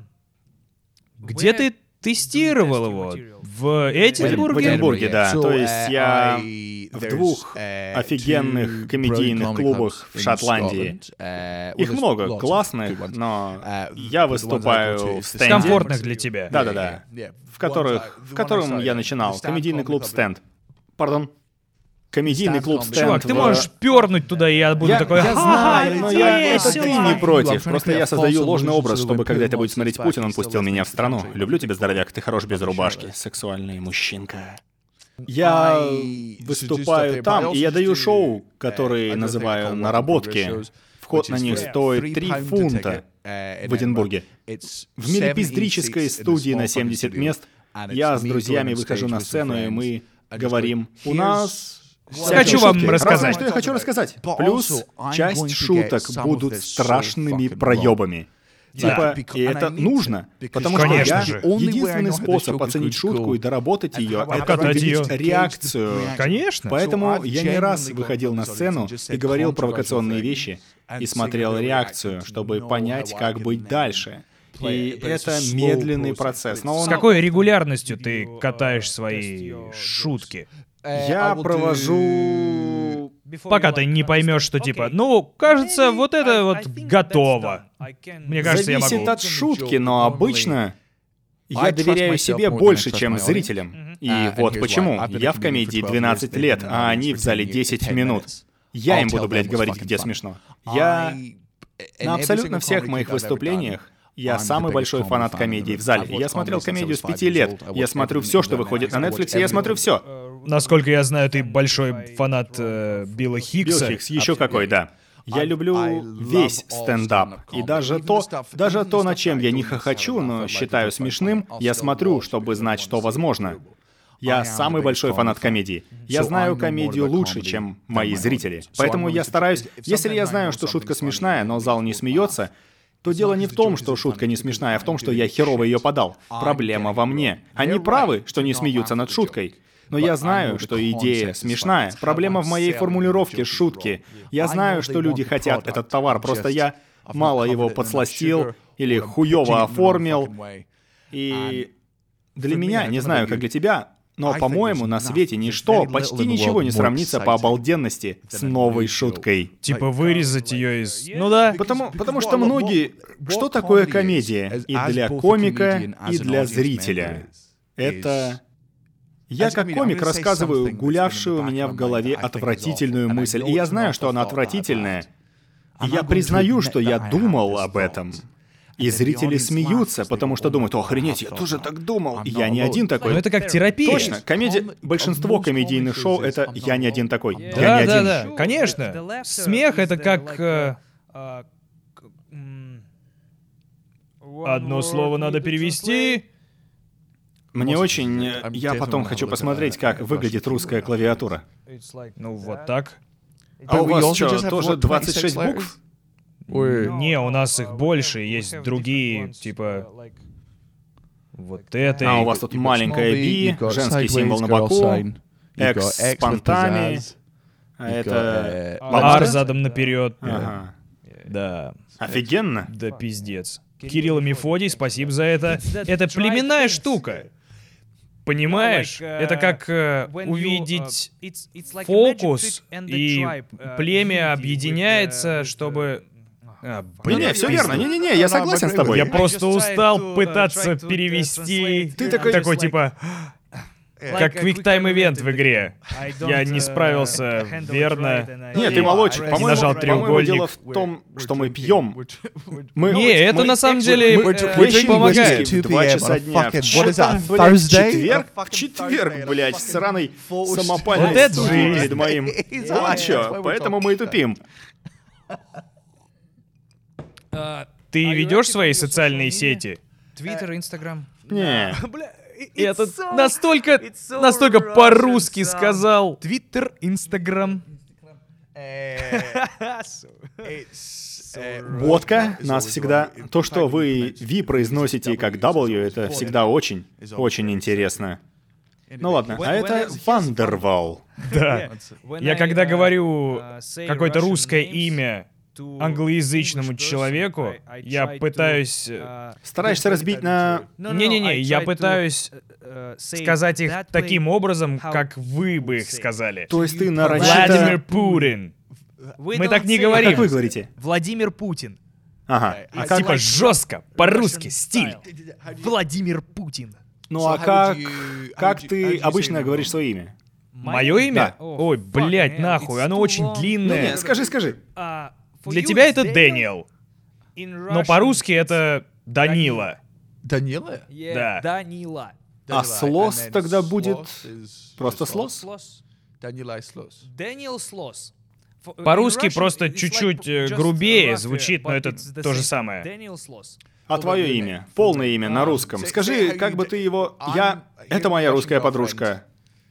Где ты тестировал его? В Эдинбурге? В Эдинбурге, да. То есть я в 2 офигенных комедийных клубах в Шотландии. Их много, классных, но я выступаю в стенде. Комфортных для тебя. Да-да-да. В котором я начинал. Комедийный клуб «Стенд». Пардон? Комедийный клуб «Стенд». Чувак, ты можешь пернуть туда, и я буду такой... Я знаю, но это ты не против. Просто я создаю ложный образ, чтобы когда это будет смотреть Путин, он пустил меня в страну. Люблю тебя, здоровяк, ты хорош без рубашки. Сексуальный мужчинка. Я выступаю там, и я даю шоу, которые называю «Наработки». Вход на них стоит 3 фунта в Эдинбурге. В милипиздрической студии на 70 мест я с друзьями выхожу на сцену, и мы говорим: у нас... Хочу вам рассказать. Что я хочу рассказать. Плюс часть шуток будут страшными проебами. Типа, и это нужно, потому что единственный способ оценить шутку и доработать ее — это увидеть реакцию. Конечно. Поэтому я не раз выходил на сцену и говорил провокационные вещи, и смотрел реакцию, чтобы понять, как быть дальше. И это медленный процесс. Но С какой регулярностью ты катаешь свои шутки? Я провожу... Пока ты не поймешь, что типа, ну, кажется, вот это вот готово. Мне кажется, я могу. Зависит от шутки, но обычно я доверяю себе больше, чем зрителям. И вот почему. Я в комедии 12 лет, а они в зале 10 минут. Я им буду, блядь, говорить, где смешно. Я на абсолютно всех моих выступлениях я самый большой фанат комедии в зале. Я смотрел комедию с 5 лет. Я смотрю все, что выходит на Netflix, и я смотрю все. Насколько я знаю, ты большой фанат Билла Хикса. Билл Хикс, еще какой, да. Я люблю весь стендап. И даже то, над чем я не хохочу, но считаю смешным, я смотрю, чтобы знать, что возможно. Я самый большой фанат комедии. Я знаю комедию лучше, чем мои зрители. Поэтому я стараюсь... Если я знаю, что шутка смешная, но зал не смеется, то дело не в том, что шутка не смешная, а в том, что я херово ее подал. Проблема во мне. Они правы, что не смеются над шуткой. Но я знаю, что идея смешная. Проблема в моей формулировке шутки. Я знаю, что люди хотят этот товар, просто я мало его подсластил или хуёво оформил. И для меня, не знаю, как для тебя, но, по-моему, на свете ничто, почти ничего не сравнится по обалденности с новой шуткой. Типа вырезать ее из... Ну да. Потому что многие... Что такое комедия? И для комика, и для зрителя. Это... Я как комик рассказываю гулявшую у меня в голове отвратительную мысль, и я знаю, что она отвратительная. И я признаю, что я думал об этом. И зрители смеются, потому что думают: охренеть, я тоже так думал. И я не один такой. Но это как терапия. Точно. Большинство комедийных шоу — это «я не один такой». Да, конечно. Смех — это как... Одно слово надо перевести... Мне очень... Я потом хочу посмотреть, как выглядит русская клавиатура. Ну, вот так. А у вас что, тоже 26 букв? Не, у нас их больше, есть другие, типа... Вот это... А у вас тут маленькая B, женский символ на боку, X с понтами, а это... R задом наперед. Ага. Да. Офигенно. Да пиздец. Кирилл и Мефодий, спасибо за это. Это племенная штука. Понимаешь? Это как увидеть фокус, и племя объединяется, чтобы... Не, все верно. Не-не-не, я согласен с тобой. Я просто устал пытаться перевести. Ты такой типа... Как Quick-Time Event в игре. Я не справился верно. Нет, ты молодчик. нажал По-моему, треугольник. дело в том, что мы пьем. Не, это на самом деле очень помогает. 2 часа дня. What is that, Блядь, Thursday? четверг, блядь, сраный самопальный Вот это студии жизнь. перед моим. Вот чё, поэтому мы и тупим. Ты ведешь свои социальные сети? Твиттер, Инстаграм. Не. И это настолько по-русски сказал. Твиттер, Инстаграм. Водка нас всегда... То, что вы V произносите как W, это всегда очень, очень интересно. Ну ладно, а это Вандервал. Да. Я когда говорю какое-то русское имя англоязычному человеку, я пытаюсь... Стараешься разбить на... Не-не-не, я пытаюсь сказать их таким образом, как вы бы их сказали. То есть ты Владимир нарочито... Путин. Мы так не говорим. Как вы говорите? Владимир Путин. Ага. А как... Типа жестко, по-русски, стиль. Владимир Путин. Ну а как ты обычно говоришь свое имя? Мое имя? Да. Ой, блядь, нахуй, оно очень Ну длинное. не, скажи. Для тебя это Дэниел, но по-русски это Данила. Данила? Да. Данила. А слос тогда будет просто слос? Данила и слос. Дэниел Слос. По-русски просто чуть-чуть грубее звучит, но это то же самое. Дэниел Слос. А твое имя? Полное имя на русском. Скажи, как бы ты его... Это моя русская подружка.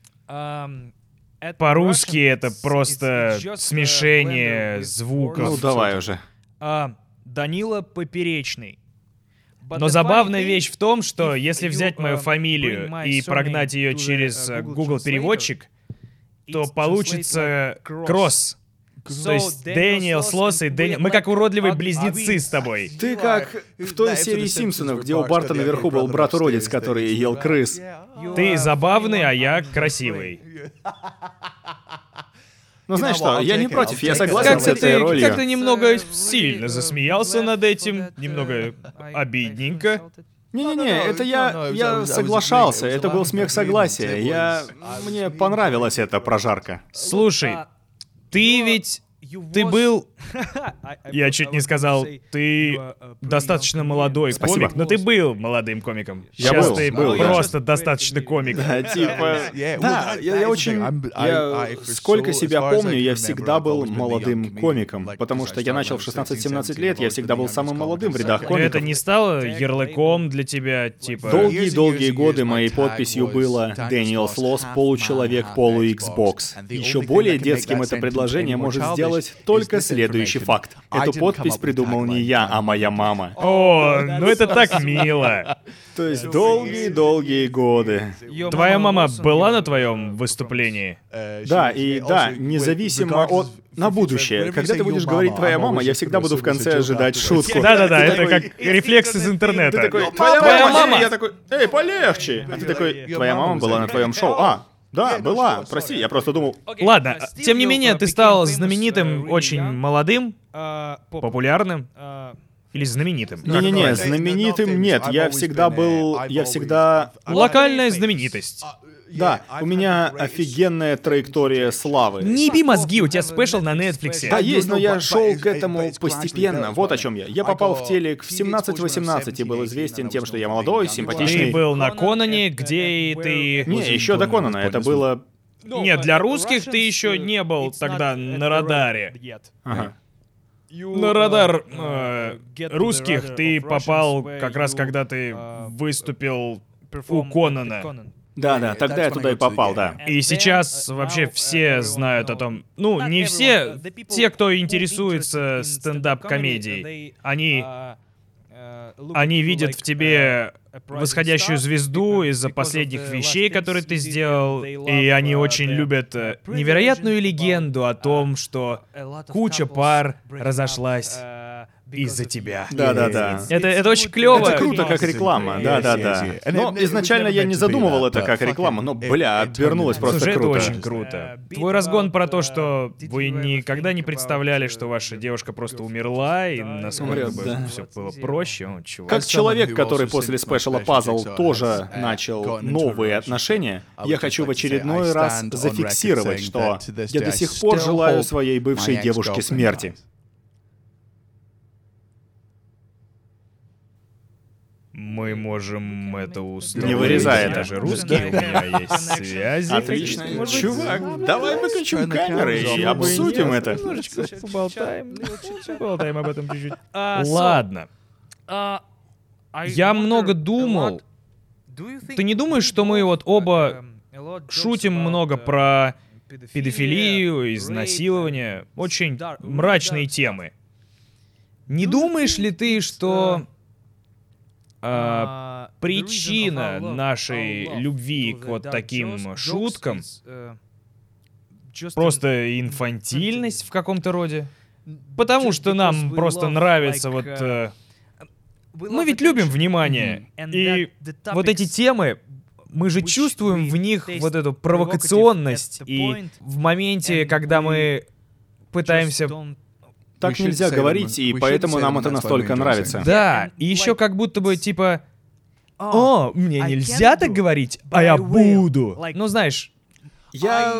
По-русски это просто смешение звуков. Ну давай уже. Данила Поперечный. Но забавная вещь в том, что если взять мою фамилию и прогнать ее через Google переводчик, то получится кросс. То есть Дэниел, Слос и Дэниел... Мы как уродливые близнецы с тобой. Ты как в той серии Симпсонов, где у Барта наверху был брат-уродец, который ел крыс. Ты забавный, а я красивый. Ну знаешь что, я не против, я согласен с этой ролью. Как-то немного сильно засмеялся над этим, немного обидненько. Не-не-не, это я соглашался, это был смех согласия. Мне понравилась эта прожарка. Слушай, ты ведь... Ты был... Я чуть не сказал, ты достаточно молодой комик, но ты был молодым комиком. Я Сейчас был, ты был, я. просто достаточно комик. Да, типа... Да, я очень... Сколько себя помню, я всегда был молодым комиком. Потому что я начал в 16-17 лет, я всегда был самым молодым в рядах Но комиков. это не стало ярлыком для тебя, типа... Долгие-долгие годы моей подписью было «Дэниел Слос, получеловек, полу-Xbox». Еще более детским это предложение может сделать только следующий факт. Эту подпись придумал не я, а моя мама. О, ну это так мило. То есть долгие-долгие годы. Твоя мама была на твоем выступлении? Да, независимо от... На будущее. Когда ты будешь говорить «твоя мама», я всегда буду в конце ожидать шутку. Да-да-да, Ты это такой- как рефлекс из Ты интернета. такой Твоя «твоя мама!» мама!» Я такой «эй, полегче!» А ты такой «твоя мама была на твоем шоу». Да, была. Прости, я просто думал... Ладно, тем не менее, ты стал знаменитым, очень молодым, популярным или знаменитым? Не-не-не, знаменитым нет. Я всегда был... Локальная знаменитость. Да, у меня офигенная траектория славы. Не еби мозги, у тебя спешл на Netflix. Да, есть, но я шел к этому постепенно. Вот о чем я. Я попал в телек в 17-18 и был известен тем, что я молодой, Ты симпатичный. был на Конане, где ты... Не, еще до Конана. Это было... Нет, для русских ты еще не был тогда на радаре. Ага. На радар русских ты попал как раз когда ты выступил у Конана. Да, тогда я туда и попал, да. И сейчас вообще все знают о том... Ну, не все. Те, кто интересуется стендап-комедией, они видят в тебе восходящую звезду из-за последних вещей, которые ты сделал, и они очень любят невероятную легенду о том, что куча пар разошлась из-за тебя. Да-да-да. Это очень клево. Это круто, как реклама, да-да-да. Но изначально я не задумывал это как рекламу, но, обернулось просто Слушай, круто. это очень круто. Твой разгон про то, что вы никогда не представляли, что ваша девушка просто умерла, и насколько бы все было проще. Чувак. Как человек, который после Special Puzzle тоже начал новые отношения, я хочу в очередной раз зафиксировать, что я до сих пор желаю своей бывшей девушке смерти. Мы можем это устроить. Не вырезай это. Даже русские, у меня есть связи. Отлично. Чувак, давай выключим камеры и обсудим это. Немножечко поболтаем об этом чуть-чуть. Ладно. Я много думал. Ты не думаешь, что мы вот оба шутим много про педофилию, изнасилование, очень мрачные темы? Не думаешь ли ты, что причина нашей любви к вот таким шуткам просто инфантильность в каком-то роде? Потому что нам просто нравится вот... Мы ведь любим внимание, и вот эти темы, мы же чувствуем в них вот эту провокационность, и в моменте, когда мы пытаемся... Так нельзя говорить, и поэтому нам это настолько нравится. Да, и еще как будто бы типа... О, мне нельзя так говорить, а я буду. Ну, знаешь... Я...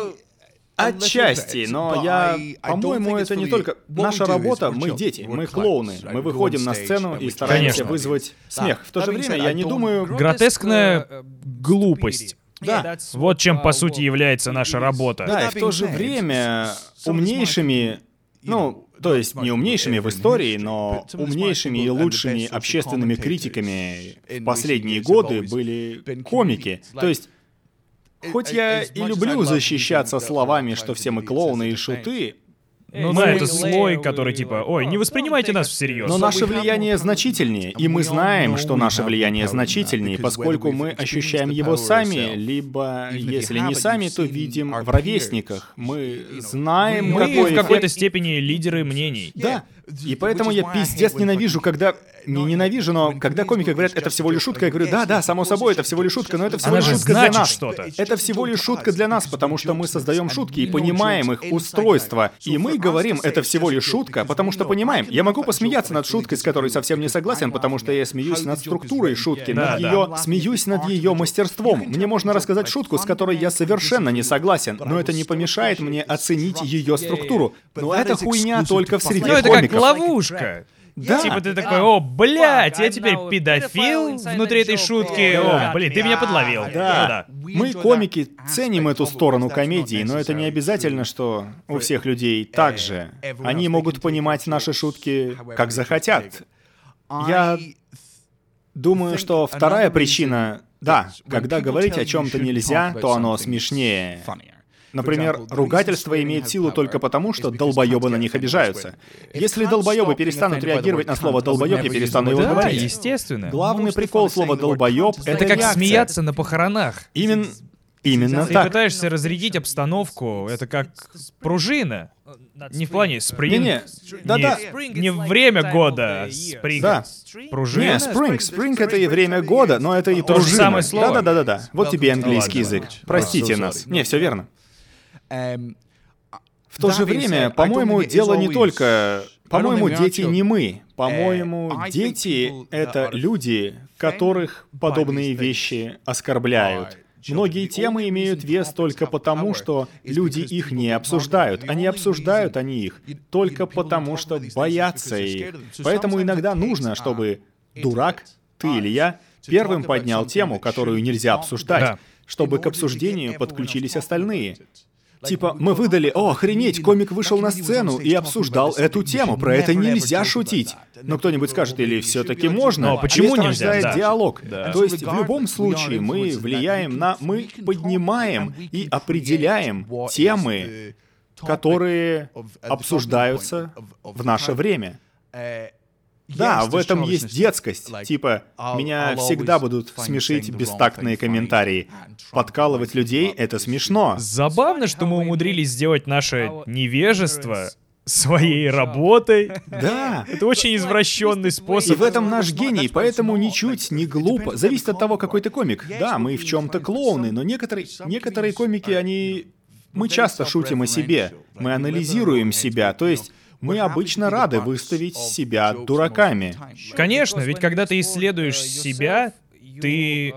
Отчасти, но по-моему, это не только... Наша работа, мы дети, мы клоуны. Мы выходим на сцену и стараемся вызвать смех. В то же время я не думаю... Гротескная глупость. Да. Вот чем, по сути, является наша работа. Да, и в то же время умнейшими... Ну, то есть не умнейшими в истории, но умнейшими и лучшими общественными критиками в последние годы были комики. То есть... Хоть я и люблю защищаться словами, что все мы клоуны и шуты, Ну да, это слой, который типа, ой, не воспринимайте нас всерьез. но наше влияние значительнее, и мы знаем, что наше влияние значительнее, поскольку мы ощущаем его сами, либо, если не сами, то видим в ровесниках. Мы знаем, Мы какой в какой-то эффект... степени лидеры мнений. Да, и поэтому я пиздец ненавижу, когда... Не ненавижу, но когда комики говорят, это всего лишь шутка, я говорю, да, само собой, это всего лишь шутка, но это всего Она лишь же шутка для значит нас. что-то. Это всего лишь шутка для нас, потому что мы создаем шутки и понимаем их устройство. И мы говорим, это всего лишь шутка, потому что понимаем. Я могу посмеяться над шуткой, с которой совсем не согласен, потому что я смеюсь над структурой шутки, смеюсь над ее мастерством. Мне можно рассказать шутку, с которой я совершенно не согласен, но это не помешает мне оценить ее структуру. Но это хуйня только в среде Ну это комиков. как ловушка. Да. Типа ты такой, о, блядь, я теперь педофил внутри этой шутки. О, блин, ты меня подловил. Да. Мы, комики, ценим эту сторону комедии, но это не обязательно, что у всех людей так же. Они могут понимать наши шутки, как захотят. Я думаю, что вторая причина... Да, когда говорить о чем-то нельзя, то оно смешнее. Например, ругательство имеет силу только потому, что долбоебы на них обижаются. Если долбоебы перестанут реагировать на слово «долбоеб», я перестану его Да, говорить. естественно. Главный прикол слова «долбоеб» — Это как реакция. смеяться на похоронах. Именно Ты так. пытаешься разрядить обстановку, это как пружина. Не в плане спринг. Не-не, да-да. Не время года, а спринг. Да. Пружина? Не, спринг это и время года, но это и То же пружина. самое слово. Да. Вот тебе английский Ладно. язык. Простите нас. Не, все верно. В то же время, по-моему, дело не только... По-моему, дети не мы. По-моему, дети — это люди, которых подобные вещи оскорбляют. Многие темы имеют вес только потому, что люди их не обсуждают. А не обсуждают они их только потому, что боятся их. Поэтому иногда нужно, чтобы дурак, ты или я, первым поднял тему, которую нельзя обсуждать, Да. чтобы к обсуждению подключились остальные. Типа, мы выдали, о, охренеть, комик вышел на сцену и обсуждал эту тему, про это нельзя шутить. Но кто-нибудь скажет, или все-таки можно? Но почему Это нельзя? рождает Да. диалог. Да. То есть в любом случае мы влияем на... Мы поднимаем и определяем темы, которые обсуждаются в наше время. Да, в этом есть детскость. Типа, меня всегда будут смешить бестактные комментарии. Подкалывать людей — это смешно. Забавно, что мы умудрились сделать наше невежество своей работой. Да. Это очень извращенный И способ. в этом наш гений, поэтому ничуть не глупо. Зависит от того, какой ты комик. Да, мы в чем-то клоуны, но некоторые комики, мы часто шутим о себе. Мы анализируем себя, то есть мы обычно рады выставить себя дураками. Конечно, ведь когда ты исследуешь себя, ты...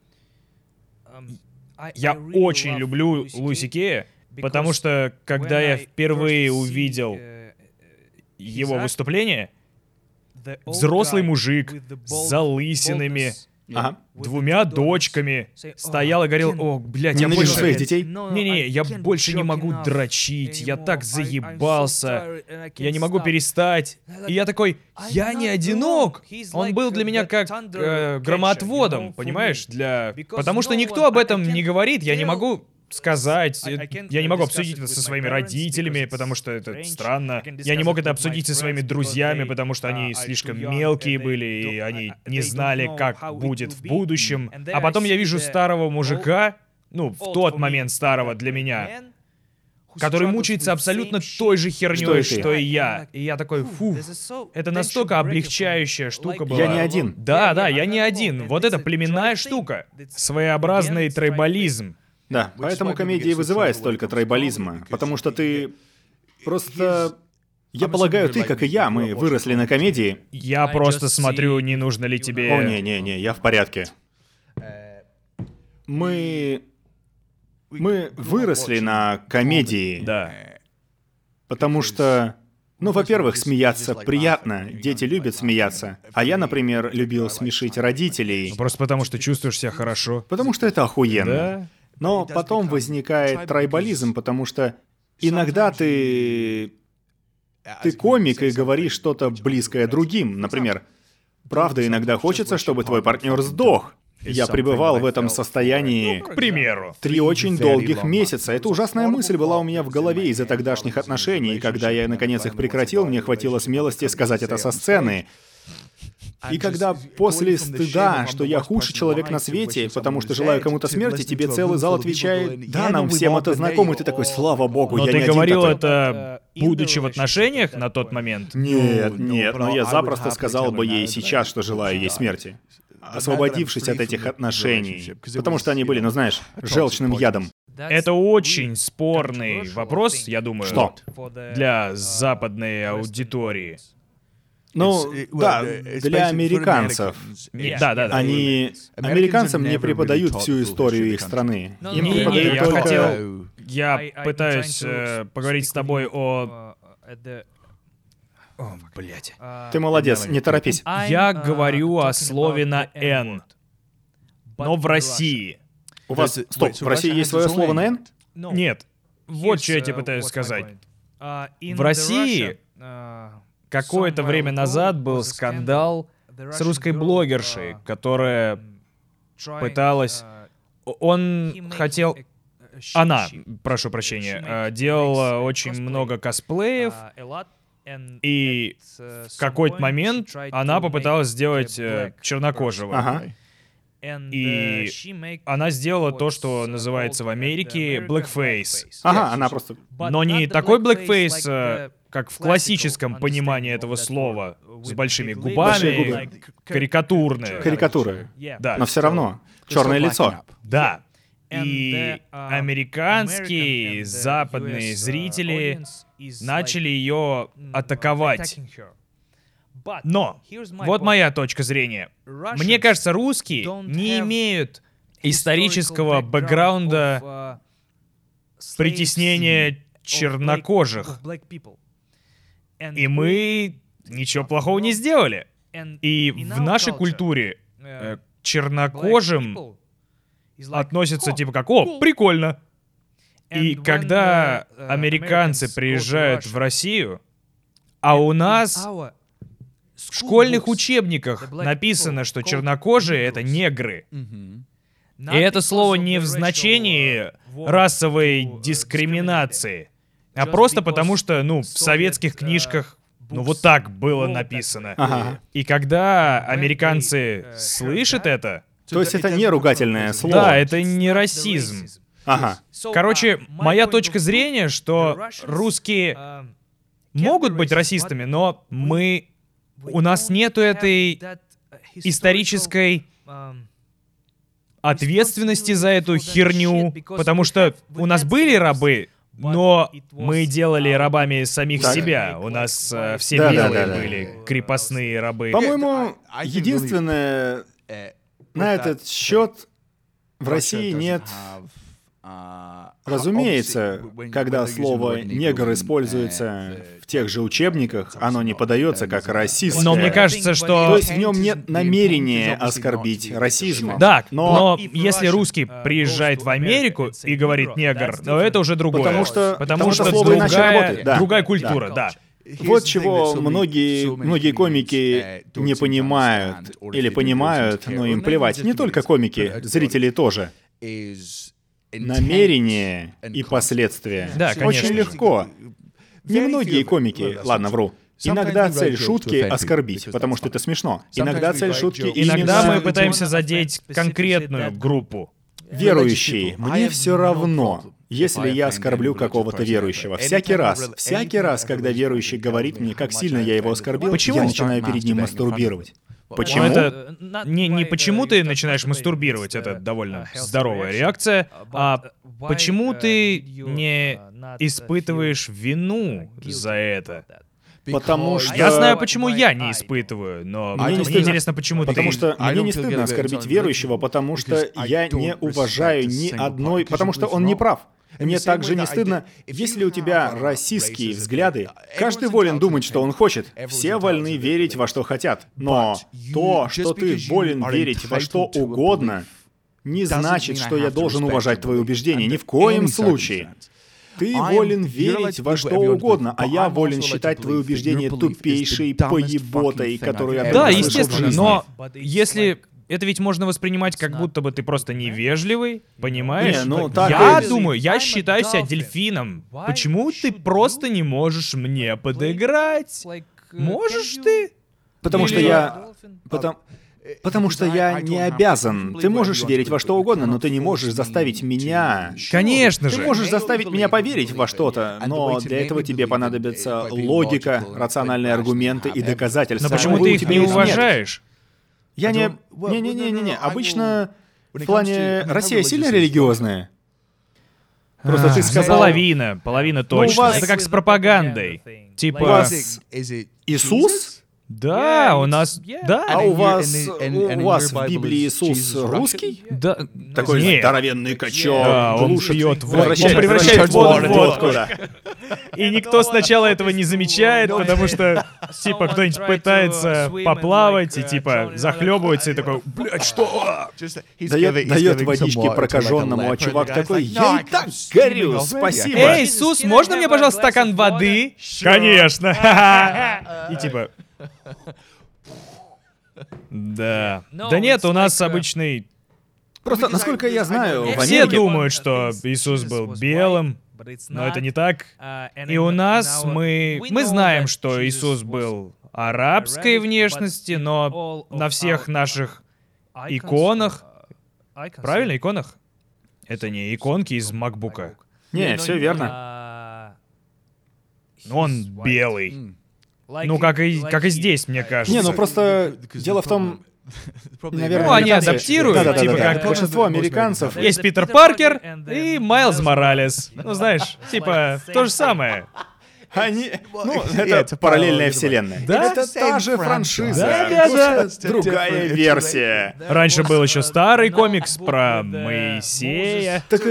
Я очень люблю Луиси Кея, потому что когда я впервые увидел его выступление, взрослый мужик с залысинами, Ага. 2 дочками стоял и говорил: «О, блядь, я Ненавижу больше... своих детей. Не-не, я больше не могу дрочить, я так заебался, я не могу перестать». И я такой: я не одинок. Он был для меня как громоотводом, понимаешь? Потому что никто об этом не говорит, я не могу сказать, я не могу обсудить это со своими родителями, потому что это странно. Я не мог это обсудить со своими друзьями, потому что они слишком мелкие были, и они не знали, как будет в будущем. А потом я вижу старого мужика, в тот момент старого для меня, который мучается абсолютно той же херней, что и я. И я такой: фух, это настолько облегчающая штука была. Я не один. Да, я не один. Вот это племенная штука. Своеобразный трайбализм. Да, поэтому комедия вызывает столько трайбализма, потому что ты просто... Я полагаю, ты, как и я, мы выросли на комедии. Я просто смотрю, не нужно ли тебе... О, не, я в порядке. Мы выросли на комедии, Да. потому что... во-первых, смеяться приятно, дети любят смеяться. А я, например, любил смешить родителей. Просто потому что чувствуешь себя хорошо. Потому что это охуенно. Да? Но потом возникает трайбализм, потому что иногда ты комик и говоришь что-то близкое другим. Например, правда, иногда хочется, чтобы твой партнер сдох. Я пребывал в этом состоянии, К примеру. 3 очень долгих месяца. Эта ужасная мысль была у меня в голове из-за тогдашних отношений, и когда я наконец их прекратил, мне хватило смелости сказать это со сцены. И когда после стыда, что я худший человек на свете, потому что желаю кому-то смерти, тебе целый зал отвечает: да, нам всем это знакомо, и ты такой: слава богу, Но я ты не один говорил такой. это, будучи в отношениях на тот момент? Нет, но я запросто сказал бы ей сейчас, что желаю ей смерти. Освободившись от этих отношений. Потому что они были, желчным ядом. Это очень спорный вопрос, я думаю. Что? Для западной аудитории. Да, для американцев. Да. Американцам не преподают всю историю их страны. Им Не, преподают я только... хотел... Я пытаюсь поговорить с тобой о... О, блядь. Ты молодец, не торопись. Я говорю о слове на «н», но в России. У вас... Стоп, в России есть свое слово на «н»? Нет. Вот что я тебе пытаюсь сказать. В России какое-то время назад был скандал с русской блогершей, которая пыталась... Она, прошу прощения, делала очень много косплеев, и в какой-то момент она попыталась сделать чернокожего. Ага. И она сделала то, что называется в Америке blackface. Ага, она просто... Но не такой blackface, как в классическом понимании этого слова, с большими Большие губами, губы. карикатурные. Карикатуры. Да. Но все равно. Черное лицо. Да. И американские, западные зрители начали ее атаковать. Но, вот моя точка зрения. Мне кажется, русские не имеют исторического бэкграунда притеснения чернокожих. И мы ничего плохого не сделали. И в нашей культуре к чернокожим относятся типа как: «О, прикольно». И когда американцы приезжают в Россию, а у нас в школьных учебниках написано, что чернокожие — это негры. И это слово не в значении расовой дискриминации, а просто потому что, в советских книжках, вот так было написано. Ага. И когда американцы слышат это... То есть это не ругательное слово? Да, это не расизм. Ага. Короче, моя точка зрения, что русские могут быть расистами, но у нас нету этой исторической ответственности за эту херню, потому что у нас были рабы, но мы делали рабами самих себя. У нас все белые были крепостные рабы. По-моему, единственное, на этот счет в России нет... Разумеется, когда слово «негр» используется в тех же учебниках, оно не подается как расистское. Но мне кажется, что... То есть в нем нет намерения оскорбить расизм. Да, но если русский приезжает в Америку и говорит «негр», то это уже другое. Потому что слово иначе работает. Да. Другая культура, да. Вот чего многие комики не понимают. Или понимают, но им плевать. Не только комики, зрители тоже. Намерение и последствия. Да, конечно. Очень легко. Немногие комики, ладно, вру. Иногда цель шутки — оскорбить, потому что это смешно. Иногда цель шутки — Иногда мы пытаемся задеть конкретную группу. Верующие, мне все равно, если я оскорблю какого-то верующего. Всякий раз, когда верующий говорит мне, как сильно я его оскорбил, я начинаю перед ним мастурбировать. Почему? Это не почему ты начинаешь мастурбировать, это довольно здоровая реакция, а почему ты не испытываешь вину за это? Потому что... Я знаю, почему я не испытываю, но мне интересно, почему ты... Потому что мне не стыдно оскорбить верующего, потому что я не уважаю ни одной... Потому что он не прав. Мне также не стыдно, если у тебя расистские взгляды. Каждый волен думать, что он хочет. Все вольны верить во что хотят. Но то, что ты волен верить во что угодно, не значит, что я должен уважать твои убеждения. Ни в коем случае. Ты волен верить во что угодно, а я волен считать твои убеждения тупейшей поеботой, которую я Да, только слышал в естественно, жизни. но если... Это ведь можно воспринимать, как будто бы ты просто невежливый, понимаешь? Не, ну, так я и- думаю, я считаю себя дельфином. Почему ты просто не можешь мне подыграть? Можешь ты? Потому что Или- я... Потому что я не обязан. Ты можешь верить во что угодно, но ты не можешь заставить меня... Конечно Ты же. можешь заставить меня поверить во что-то, но для этого тебе понадобится логика, рациональные аргументы и доказательства. Но почему Увы, ты у их тебя не их нет. уважаешь? Я не... Не-не-не-не. Обычно в плане Россия сильно религиозная. Просто ты сказал... Половина точно. вас- Это как с пропагандой. У Типа... вас Иисус? Да, у нас... Да. А у вас в Библии Иисус русский? Да. Такой Нет. здоровенный качок, Да, он глушит, пьет водку. превращает Он превращает воду в водку. да. И никто сначала этого не замечает, потому что, типа, кто-нибудь пытается поплавать и, типа, захлебывается и такой, блядь, что? Дает водички прокаженному, а чувак такой: я и так горю, спасибо. Эй, Иисус, можно мне, пожалуйста, стакан воды? Конечно. И типа... Да. Да нет, у нас обычный... Просто, насколько я знаю, в Все Америке... думают, что Иисус был белым, но это не так. И у нас мы знаем, что Иисус был арабской внешности, но на всех наших иконах... Правильно, иконах? Это не иконки из макбука. Не, все верно. Он белый. Ну, как и здесь, мне кажется. Не, ну просто дело в том, наверное, Ну, они американцы- адаптируют, Да-да-да-да. типа как- Большинство американцев... Есть Питер Паркер и Майлз Моралес. Ну, знаешь, типа, то же самое. Они... Ну, это параллельная вселенная. Да? Это та же франшиза. Да. Просто другая версия. Раньше был еще старый комикс про Моисея. Так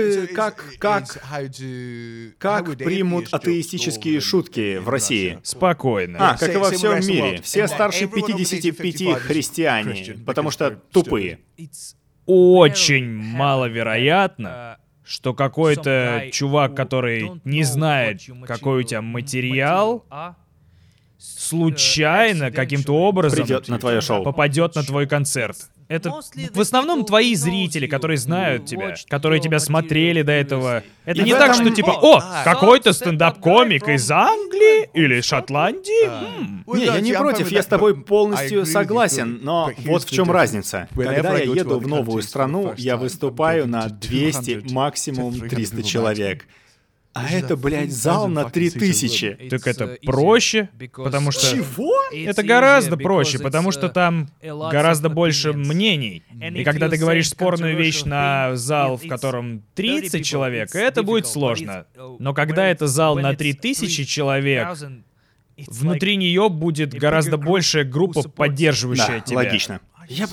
как примут атеистические шутки в России? Спокойно. Как и во всем мире. Все старше 55 христиане, потому что тупые. Очень маловероятно, что какой-то чувак, который не знает, какой у тебя материал, случайно, каким-то образом Придет на твое шоу. попадет на твой концерт. Это в основном твои зрители, которые знают тебя, которые тебя смотрели до этого. Это И не в так, этом- что типа, о, какой-то стендап-комик из Англии или Шотландии. Не, я не против, я с тобой полностью согласен, но вот в чем разница. Когда я еду в новую страну, я выступаю на 200, максимум 300 человек. А это, блядь, зал на 3000. Так это проще, потому что... Чего? Это гораздо проще, потому что там гораздо больше мнений. И когда ты говоришь спорную вещь на зал, в котором 30 человек, это будет сложно. Но когда это зал на 3000 человек, внутри нее будет гораздо большая группа, поддерживающая тебя. Логично.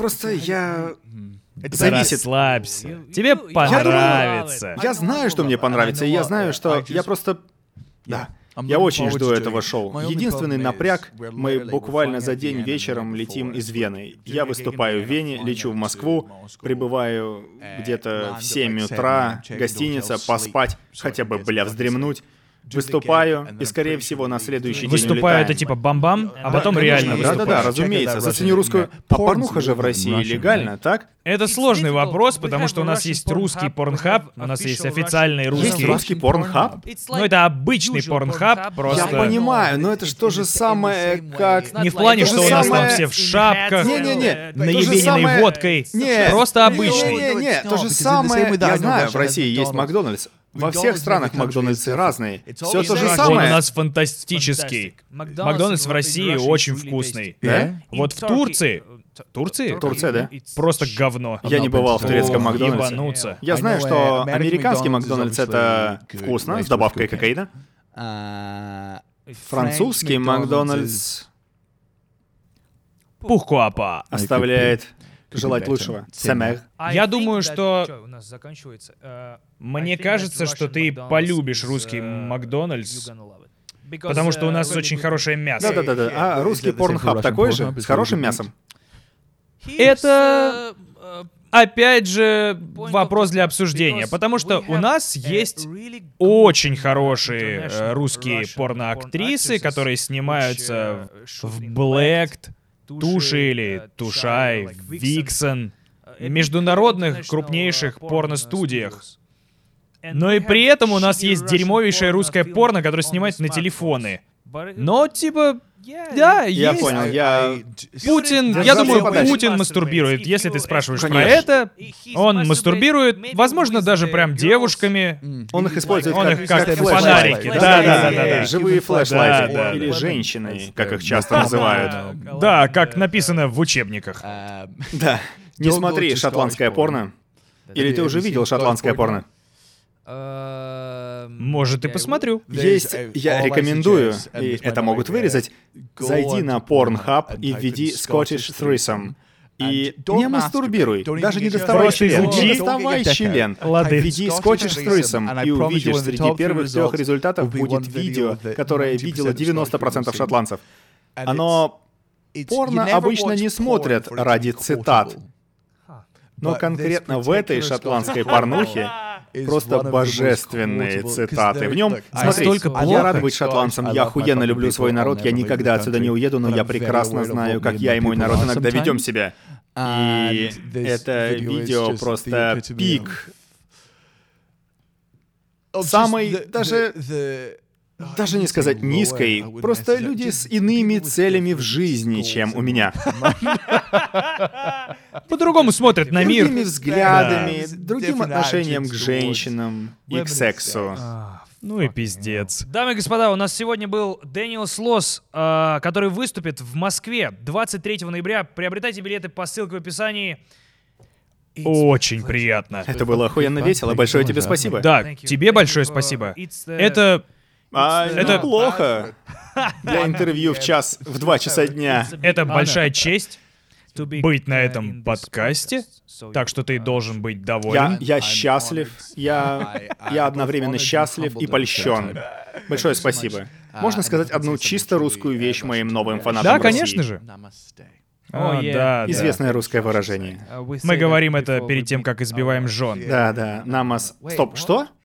Зависит. Расслабься. Тебе понравится. Я знаю, что мне понравится, и я знаю, что я просто... Да. Я очень жду этого шоу. Единственный напряг, мы буквально за день вечером летим из Вены. Я выступаю в Вене, лечу в Москву, прибываю где-то в 7 утра, гостиница, поспать, хотя бы, вздремнуть. Выступаю, и, скорее всего, на следующий день Выступаю, это улетаем. типа бам-бам, а потом реально выступаю. Да-да-да, разумеется. Зацени русскую. А порнуха же в России легально, так? Это сложный вопрос, потому что у нас есть русский порнхаб, у нас есть официальный Есть русский... русский порнхаб? Ну, это обычный порнхаб, просто... Я понимаю, но это ж то же самое, как... Не в плане, то же что у нас там самое- все в шапках, Не-не-не, то же наебененной самое- водкой. Не, Просто обычный. Не-не-не, то же самое, я знаю, в России есть Макдональдс. Во всех странах Макдональдсы разные. Все то же Он у самое. нас фантастический. Макдональдс в России очень вкусный. Да? Вот в Турции... Турция, да? Просто говно. Я не бывал в турецком Ох, Макдональдсе. ебануться. Я знаю, что американский Макдональдс — это вкусно, с добавкой кокаина. Французский Макдональдс Пухкуапа. оставляет желать лучшего. Сэмэр. Я думаю, что... Мне кажется, что ты полюбишь русский Макдональдс, потому что у нас очень хорошее мясо. Да-да-да. А русский порнхаб такой же? С хорошим мясом? Это, опять же, вопрос для обсуждения, потому что у нас есть очень хорошие русские порноактрисы, которые снимаются в Блэкт, Туши или Тушай, Виксон, международных крупнейших порностудиях. Но и при этом у нас есть дерьмовейшее русское порно, которое снимают на телефоны. Но, типа, да, Я есть. понял, я... Путин, Держаться я думаю, подальше. Путин мастурбирует. Если ты спрашиваешь про Конечно. это, он мастурбирует, возможно, даже прям девушками. Он их использует Он их как флешлайты. фонарики. Да. Живые флешлайты. Да. Или женщины, как их часто называют. Да, как написано в учебниках. Да. Не смотри шотландское порно. Или ты уже видел шотландское порно? Может, и посмотрю. Есть, я рекомендую, и это могут вырезать, зайди на Pornhub и введи Scottish Threesome. И не мастурбируй, даже не доставай Просто член, изучи. не доставай член. Лады. Введи Scottish Threesome и увидишь, среди первых 3 результатов будет видео, которое видело 90% шотландцев. Оно... Порно обычно не смотрят ради цитат. Но конкретно в этой шотландской порнухе просто божественные цитаты. В нем, смотри, Настолько я плохо. рад быть шотландцем, я охуенно люблю свой народ, я никогда отсюда не уеду, но я прекрасно знаю, как я и мой народ иногда ведем себя. И это видео просто пик. Самый, даже не сказать низкой, просто люди с иными целями в жизни, чем у меня. По-другому смотрят на мир. Другими взглядами, другим отношением к женщинам и к сексу. Ну и пиздец. Дамы и господа, у нас сегодня был Дэниел Слос, который выступит в Москве 23 ноября. Приобретайте билеты по ссылке в описании. Очень приятно. Это было охуенно весело, большое тебе спасибо. Да, тебе большое спасибо. Это Это плохо. Для интервью в 2 часа дня. Это большая честь быть на этом подкасте, так что ты должен быть доволен. Я счастлив. Я одновременно счастлив и польщен. Большое спасибо. Можно сказать одну чисто русскую вещь моим новым фанатам Да, в России? конечно же. О, да. Известное русское выражение. Мы говорим это перед тем, как избиваем жен. Да. Намас... Стоп, что?